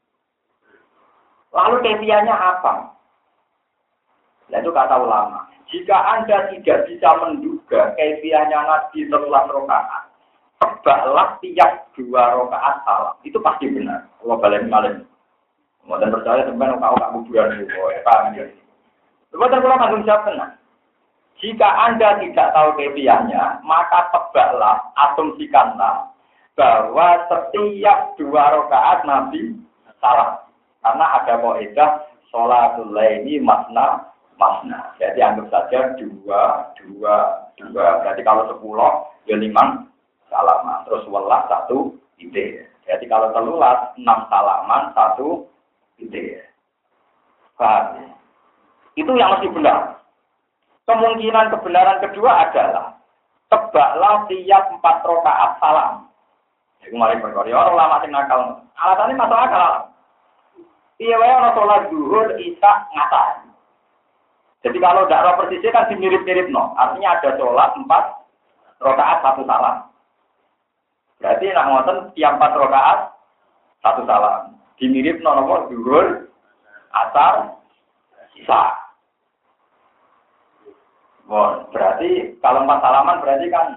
Lalu kefiahnya apa? Nah, itu kata ulama. Jika Anda tidak bisa menduga kefiahnya Nabi setelah rakaat, tebaklah tiap 2 rakaat salam. Itu pasti benar. Allah balik-balik. Dan percaya teman kau tak kuburan itu. Paham ya? Sebentar kalau langsung jawab tenang. Jika Anda tidak tahu kefiahnya, maka tebaklah, asumsikanlah bahwa setiap 2 rakaat Nabi salam. Karena ada kaidah sholatul laili masna. Jadi anggap saja 2. Berarti kalau 10 ya 5 salaman. Terus welas 1 ide. Jadi kalau 13 6 salaman 1 ide. Paham? Itu yang mesti benar. Kemungkinan kebenaran kedua adalah tebaklah tiap 4 rakaat salam. Jadi mulai berkorea orang lama sing nakal. Alasannya masuk akal. Iya, orang sholat zuhur, isya, ngasar. Jadi kalau tidak persisnya kan dimirip-mirip, no. Artinya ada sholat 4 rakaat 1 salam. Berarti nak ngoten tiap 4 rakaat 1 salam. Dimirip nomor zuhur, asar, isya. Bon, berarti kalau 4 salaman berarti kan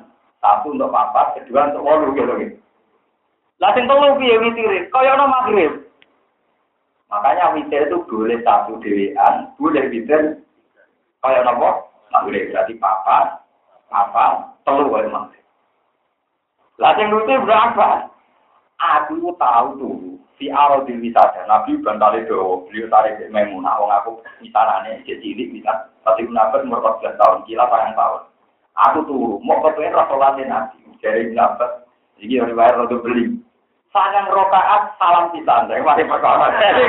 Satu untuk papat, kedua untuk 8 gitu. Lah sing telu piye witire? Kaya ana magrib. Makanya witir itu boleh satu dhewean, boleh witir kaya napa? Magrib. Berarti papat, telu wae magrib. Lah sing lucu berapa? Aku tahu tuh si Arodil wisata Nabi bantale do beliau tarik Maimunah wong aku misalane cilik bisa tapi menabet umur 14 tahun kila sayang tahun. Aku tuh mau kepengen rasulane Nabi dari menabet iki riwayat rada beli. Sangang rakaat salam pisan dari mari perkara.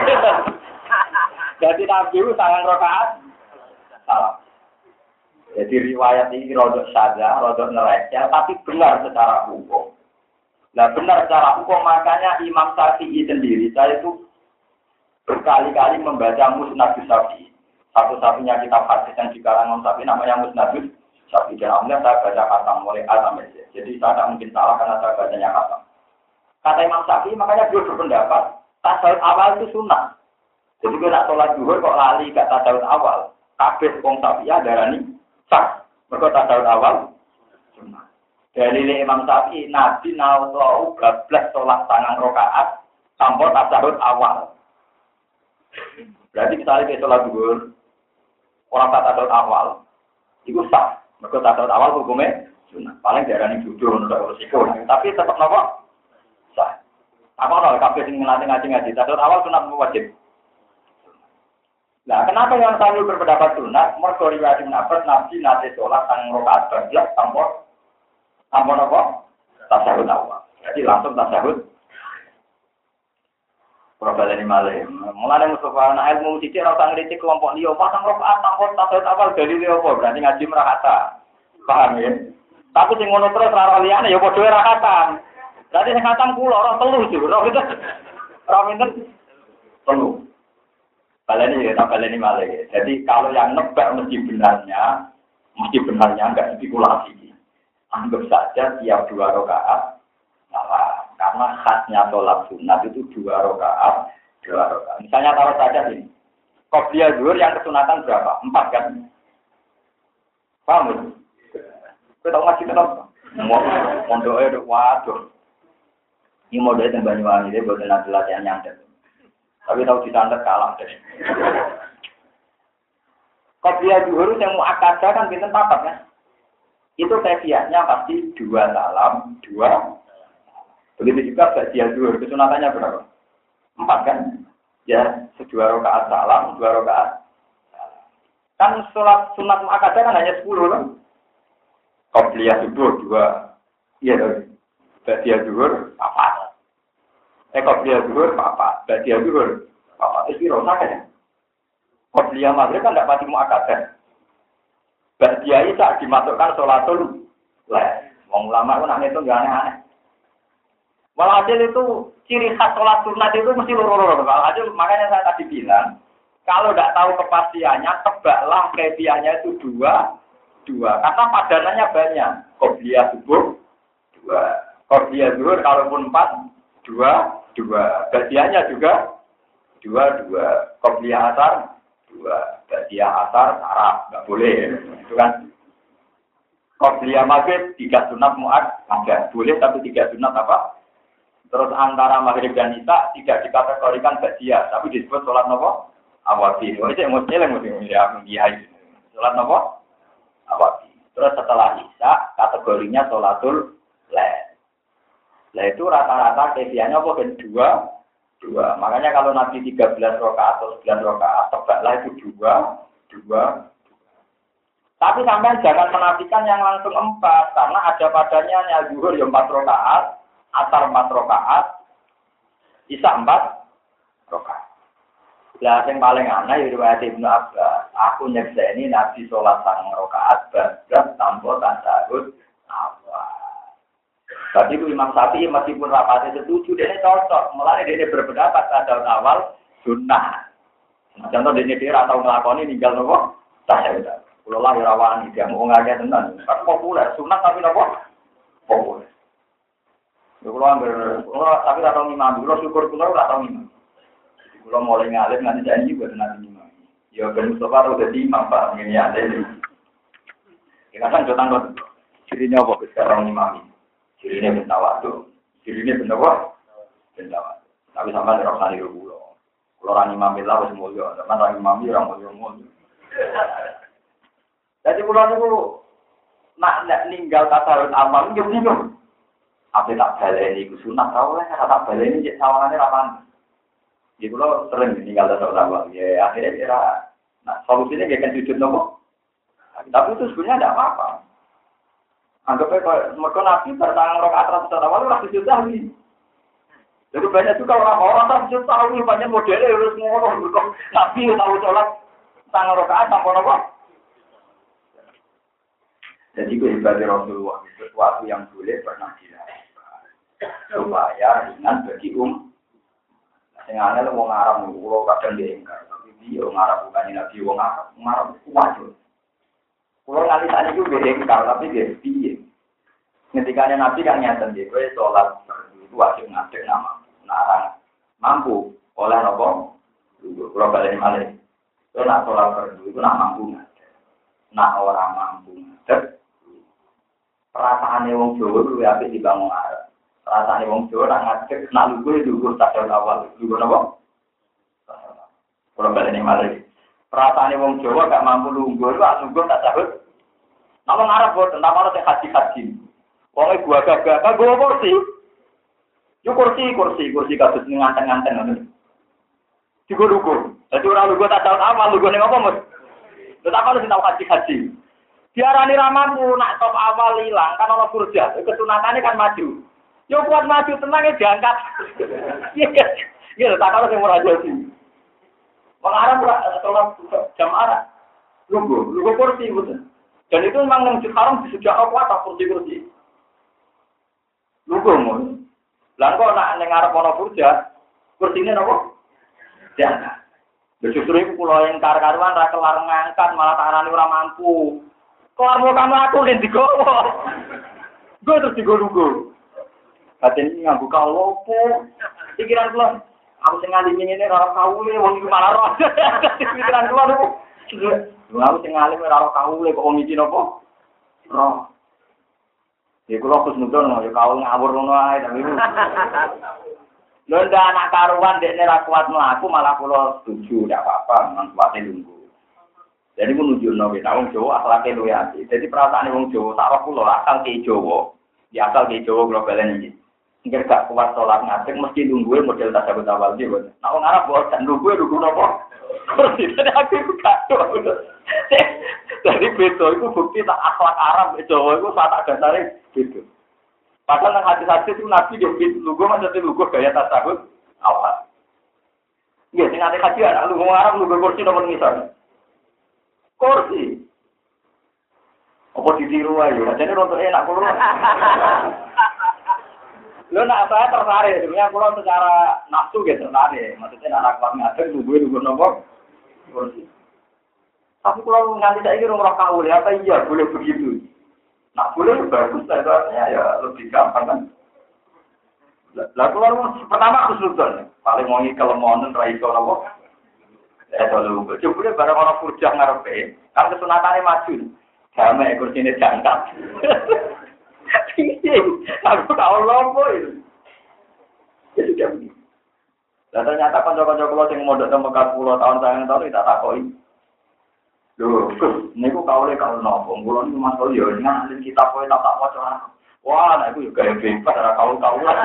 Jadi Nabi itu sangang rakaat salam. Jadi riwayat ini rada saja, rada neraca tapi benar secara hukum. Nah benar secara hukum makanya Imam Syafi'i sendiri saya itu berkali-kali membaca Musnad Syafi'i. Satu-satunya kitab hadis yang dikarang Imam Syafi'i namanya Musnad Syafi'i. Dan alhamdulillah saya baca khatam mulai A sampai Z. Jadi saya tidak mungkin salah karena saya bacanya khatam. Kata Imam Syafi'i makanya dia berpendapat tasawuf awal itu sunnah. Jadi kalau nak sholat zuhur kok lali gak tasawuf awal. Kabeh wong Syafi'i darani sah. Mergo tasawuf awal sunnah. Dari Imam Syafi'i, Nabi nawau bablas sholat sangang rakaat tanpa tasawuf awal. Berarti misalnya dia sholat zuhur, orang tasawuf awal, itu sah. Mereka tasawuf awal hukumnya sunnah. Paling darahnya jujur, tidak resiko. Tapi tetap nopo sah. Apa kalau kabeh sing ngaji tasawuf awal sunnah wajib. Nah, kenapa yang selalu berpendapat sunnah? Mereka riwayat Nabi nate sholat sangang rakaat bablas tanpa nopo tasawuf awal. Jadi langsung tasawuf. Problem ini malah. Mulane Mustafa anak ilmu sithik ora usah ngritik kelompok liya, pasang rakaat tanpa tasawuf awal dari liya apa? Berarti ngaji merahata. Paham ya? Tapi sing ngono terus ora liyane ya padha ora khatam. Berarti sing khatam kula ora telu jur. Ora pinten? Telu. Baleni ya, baleni malah. Jadi kalau yang nebak mesti benarnya enggak spekulasi. Anggap saja tiap 2 rakaat salah. Karena khasnya sholat sunat itu 2 rakaat. Misalnya taruh saja ini. Qobliyah zuhur yang kesunatan berapa? 4 kan? Paham ya? Kita tahu masih kenapa? Mondoknya waduh. Ini modalnya yang Banyuwangi, dia buat nanti latihan nyantet. Tapi tahu disantet kalah deh. Qobliyah zuhur yang mau akadah kan pinten 4 kan? Itu kaifiahnya pasti 2 salam, 2. Begitu juga ba'diyah zuhur, kesunatannya berapa? 4 kan? Ya, 2 rakaat salam, 2 rakaat. Kan sholat sunat mu'akkadah kan hanya 10 kan? Qobliyah zuhur 2. Iya, ba'diyah zuhur 4. Qobliyah zuhur 4, ba'diyah zuhur 4. Itu rosak ya? Qobliyah maghrib kan tidak pasti mu'akkadah. Ba'diyah Isya dimasukkan sholatul lail. Wong ulama itu nanya itu nggak aneh-aneh. Walhasil itu ciri khas sholat sunat itu mesti loro-loro. Walhasil makanya saya tadi bilang, kalau tidak tahu kepastiannya, tebaklah kaifiahnya itu 2. Karena padanannya banyak. Qobliyah subuh 2. Qobliyah zuhur kalaupun 4, 2. Ba'diyahnya juga 2. Qobliyah asar 2. Ba'diyah asar saraf nggak boleh. Itu kan. Qobliyah maghrib 3 sunat mu'akkadah boleh tapi 3 sunat apa? Terus antara maghrib dan isya tidak dikategorikan ba'diyah tapi disebut sholat nopo? Awati. Oh itu yang mesti ya sholat nopo? Awati. Terus setelah isya kategorinya sholatul lail. Nah itu rata-rata kaifiahnya apa kan 2. Makanya kalau Nabi 13 rakaat atau 9 rakaat tebaklah itu 2. Tapi sampai jangan menafikan yang langsung 4 karena ada padanya zuhur ya 4 rakaat, asar 4 rakaat, isya 4 rakaat. Lah yang paling aneh riwayat Ibnu Abbas, aku nyekseni Nabi sholat 9 rakaat bablas tanpa tasahud awal. Tadi itu Imam Syafi'i meskipun rapatnya setuju, dia cocok. Mulanya dia berpendapat tasawuf awal sunnah. Contoh dia atau ngelakoni ninggal nopo tasawuf. Kalau lah rawan dia mau ngajak tenan. Kan populer sunnah tapi nopo populer. Kalau tapi tak tahu imam, kalau syukur kalau tak tahu imam. Kalau mulai ngalir nanti janji buat nanti imam. Ya ben Mustafa udah jadi imam pak ini ada. Kita kan jodoh Cirinya apa? Sekarang imami. Cirinya bentawadu. Cirinya bentawadu. Bentawadu. Tapi sama ada rasa niru pulau. Kalau orang imami lah harus mulia. Sama orang imami orang mulia. Jadi pulau itu nak ninggal tasawuf amal itu bingung. Apa tak baleni ku sunat tau lah. Tak baleni cek sawangannya lapan. Jadi pulau sering ninggal tasawuf amal. Ya akhirnya kira. Nah solusinya dia kan sujud nopo. Tapi itu sebenarnya tidak apa-apa. Anggapnya kalau mereka nabi bertangan rokaat ratus awal itu ratus juta lagi. Jadi banyak juga orang tak sujud tahu banyak modelnya harus ngomong. Nabi tahu sholat tangan rokaat tanpa apa. Jadi kehebatnya Rasulullah itu sesuatu yang boleh pernah dilakukan supaya ringan bagi Sehingga ada orang Arab kalau kadang diingkar, tapi dia orang Arab bukannya Nabi orang Arab wajib. Kalau nanti tadi juga diingkar, tapi dia piye. Ketika Nabi kan nyata dia, sholat itu wajib ngadeg nama, narang mampu oleh nopo. Kalau balik balik, itu nak sholat fardu itu nak mampu ngadeg, nak orang mampu ngadeg. Perasaan wong Jawa itu apik dibangun Arab. Perasaan wong Jawa nak ngadeg, nak lugu tasawuf awal, lugu nopo. Kalau balik balik, perasaan wong Jawa gak mampu lugu itu lugu tasawuf. Nama Arab boten, nama orang haji. Wongnya gua gagah, gua kursi. Yuk kursi kasus nganteng-nganteng. Juga lugu. Jadi orang lugu tak tahu apa, lugu ini apa mas? Tetapi harus tahu haji. Diarani ramampu, nak top awal hilang, kan orang kurja. Kesunatannya kan maju. Yuk buat maju, tenangnya diangkat. Iya, tak kalau yang murah jadi. Mengarang sholat jam arah. Lugu kursi betul. Dan itu memang menunjuk haram di sejak awal tak kursi. Lugu mun. Lah kok nak ning arep ana kursine napa? Jangan. Justru iku kula yang kar-karuan ra kelar ngangkat malah tarane ora mampu. Kelar mau kamu aku ning digowo. Gue terus digo-lugo. Batin ini nganggo kalopo. Pikiran kula, aku sing ngali ngene ora kawule wong iki malah roh. Pikiran kula niku. Aku sing ngali ora kawule kok wong iki napa? Roh. Ya kula kusnudon ya kawul ngawur ngono ae tapi. Lho ndak anak karuan dekne ra kuat mlaku malah kula setuju ndak apa-apa memang kuwate lungguh. Jadi ku nunjukno nek wong Jawa akhlake luwih apik. Jadi perasaane wong Jawa tak roh kula asal ke Jawa. Ya asal ke Jawa kula balen iki. Engger gak kuat salat ngadeg mesti lungguhe model tasawuf awal iki. Nek wong Arab boten lungguhe lugu napa? Jadi aku gak tahu. Jadi beto itu bukti tak akhlak Arab Jawa itu tak dasare gitu. Padahal nang hati-hati itu Nabi dia lugu maksudnya lugu gaya tasawuf awal. Iya, sing ate haji anak lugu Arab lugu kursi nomor misal. Kursi. Apa ditiru ae ya? Jane rontok enak kulo. Lho nak saya tertarik sebenarnya kulo secara nafsu gitu tertarik. Maksudnya anak kuat ngadeg lugu nomor kursi. Tapi kalau nganti saya kira orang kawul, apa iya boleh begitu? Nah boleh bagus, saya ya lebih gampang kan. Lah kalau pertama kesulitan, paling mau kelemahan raiso apa? Kalau boleh barang orang kurjah ngarepe, kan kesunatannya maju, damai kursinya jangkat. Aku tahu lompok itu. Jadi dia begitu. Dan ternyata kanca-kanca kula sing mondok teng Mekah 10 tahun kita takoi. Lho, niku kaule kalau nopo, kula niku masuk yo nang kita kowe tak waca. Wah, nek iku yo gawe bebas ora kaul-kaulan.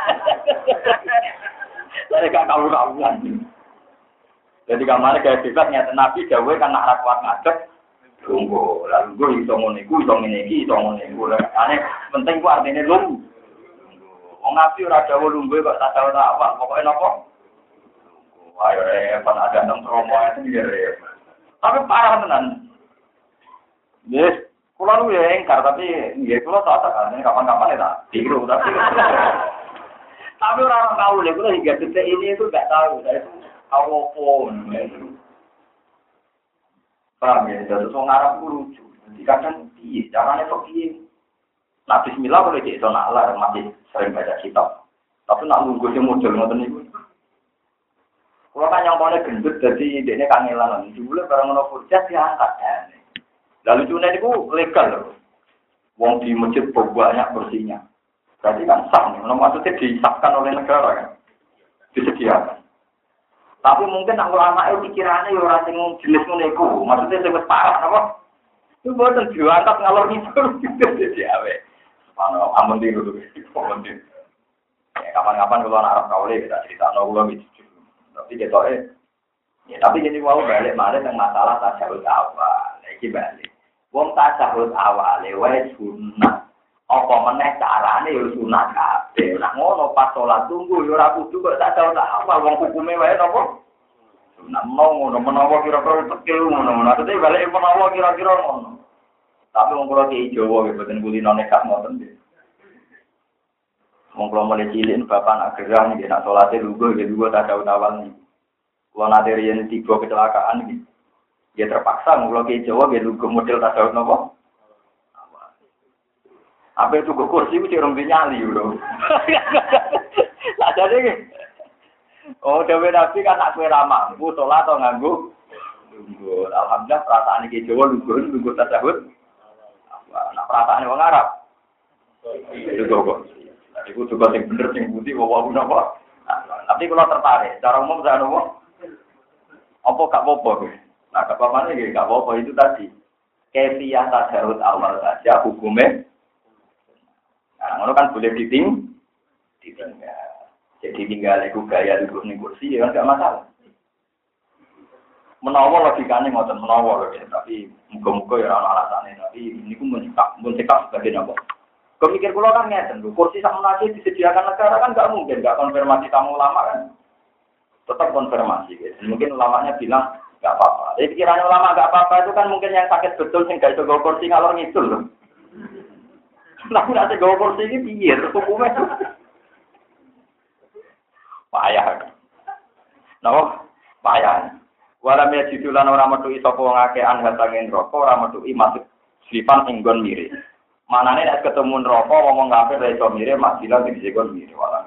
Saya gak kaul-kaulan. Jadi kamane gawe bebas nyata Nabi dawuhe kan nak ra kuat ngadeg. Lungguh, lalu gue iso ngene iku, iso ngene iki, iso ngene iku. Ane penting ku artine lungguh. Wong Nabi ora dawuh lungguh kok tak tahu tak apa, pokoke napa? Ayo repot ada nang promo itu ya. Tapi parah tenan. Yes, kula nu ya engkar tapi nggih kula tak kan kapan-kapan ya tiru tapi. Tapi orang tahu deh kula hingga detik ini itu enggak tahu saya itu awopon. Paham ya, jadi wong Arab lucu. Dikatakan piye, carane kok piye? Nah bismillah boleh cek sonala masih sering baca kitab. Tapi nak nunggu sing model ngoten niku. Kalau kan yang paling gendut, jadi dia kangelan. Dulu barang mono kurjas diangkat. Lalu cuna itu legal loh. Wong di masjid banyak bersihnya. Berarti kan sah. Maksudnya disahkan oleh negara kan. Disediakan. Tapi mungkin ulama itu pikirannya ya orang yang jenis meneku. Maksudnya sebut parah apa? Itu buatan diangkat ngalor ngidul gitu jadi awe. Amun dulu. Kapan-kapan kalau anak Arab kaule kita cerita nol gitu. Tapi ketoknya. Ya tapi jadi mau balik yang masalah tasawuf awal. Iki balik. Wong tasawuf awal wae sunah. Apa meneh carane ya sunah kabeh. Lah ngono pas salat tunggu ya ora kudu kok tasawuf awal wong hukume wae napa? Sunah mau ngono menawa kira-kira tekil ngono. Maksudnya balik menawa kira-kira ngono. Tapi wong kula ki Jawa nggih boten kulino nekat ngoten nggih. Wong kula mulai cilik bapak nak gerah nggih nak salate lungguh nggih lungguh tasawuf awal niki. Kula nate riyen 3 kecelakaan nggih. Ya terpaksa kula ki Jawa nggih lungguh model tasawuf napa? Apa itu kursi itu cerong nyali lho. Lah jane oh dewe Nabi kan nak kowe ra mampu salat atau nganggo lungguh. Alhamdulillah perasaan iki Jawa lungguh tasawuf. Nak perasaane wong Arab. Itu kok. Iku juga sing bener sing budi wae napa. Tapi kalau tertarik, cara umum saya nopo. Apa gak apa-apa kowe? Nah, gak apa-apa nggih, gak apa-apa itu tadi. Kefiyah tasawuf awal saja hukumnya. Nah, ngono kan boleh ditinggal. Jadi tinggal iku gaya duduk ning kursi ya enggak masalah. Menawa logikane ngoten menawa lho, tapi muga-muga ya ana alasane, tapi niku mun cekak sebagai napa. Kemikir kula kan ngeten lho, kursi sak menawa disediakan negara kan enggak mungkin, enggak konfirmasi tamu ulama kan. Tetap konfirmasi guys. Mungkin ulamanya bilang enggak apa-apa. Jadi pikiran ulama enggak apa-apa itu kan mungkin yang sakit betul sing gak iso go kursi ngalor ngidul lho. Lah nek go kursi iki piye hukume? Payah. Napa? Payah. Wala me jitulan ora metu sapa wong akeh anhatangen neraka ora metu masuk sifat inggon mirip. Manane nek ketemu neraka ngomong kafir ra iso mirip mak bilang iki kon mirip wala.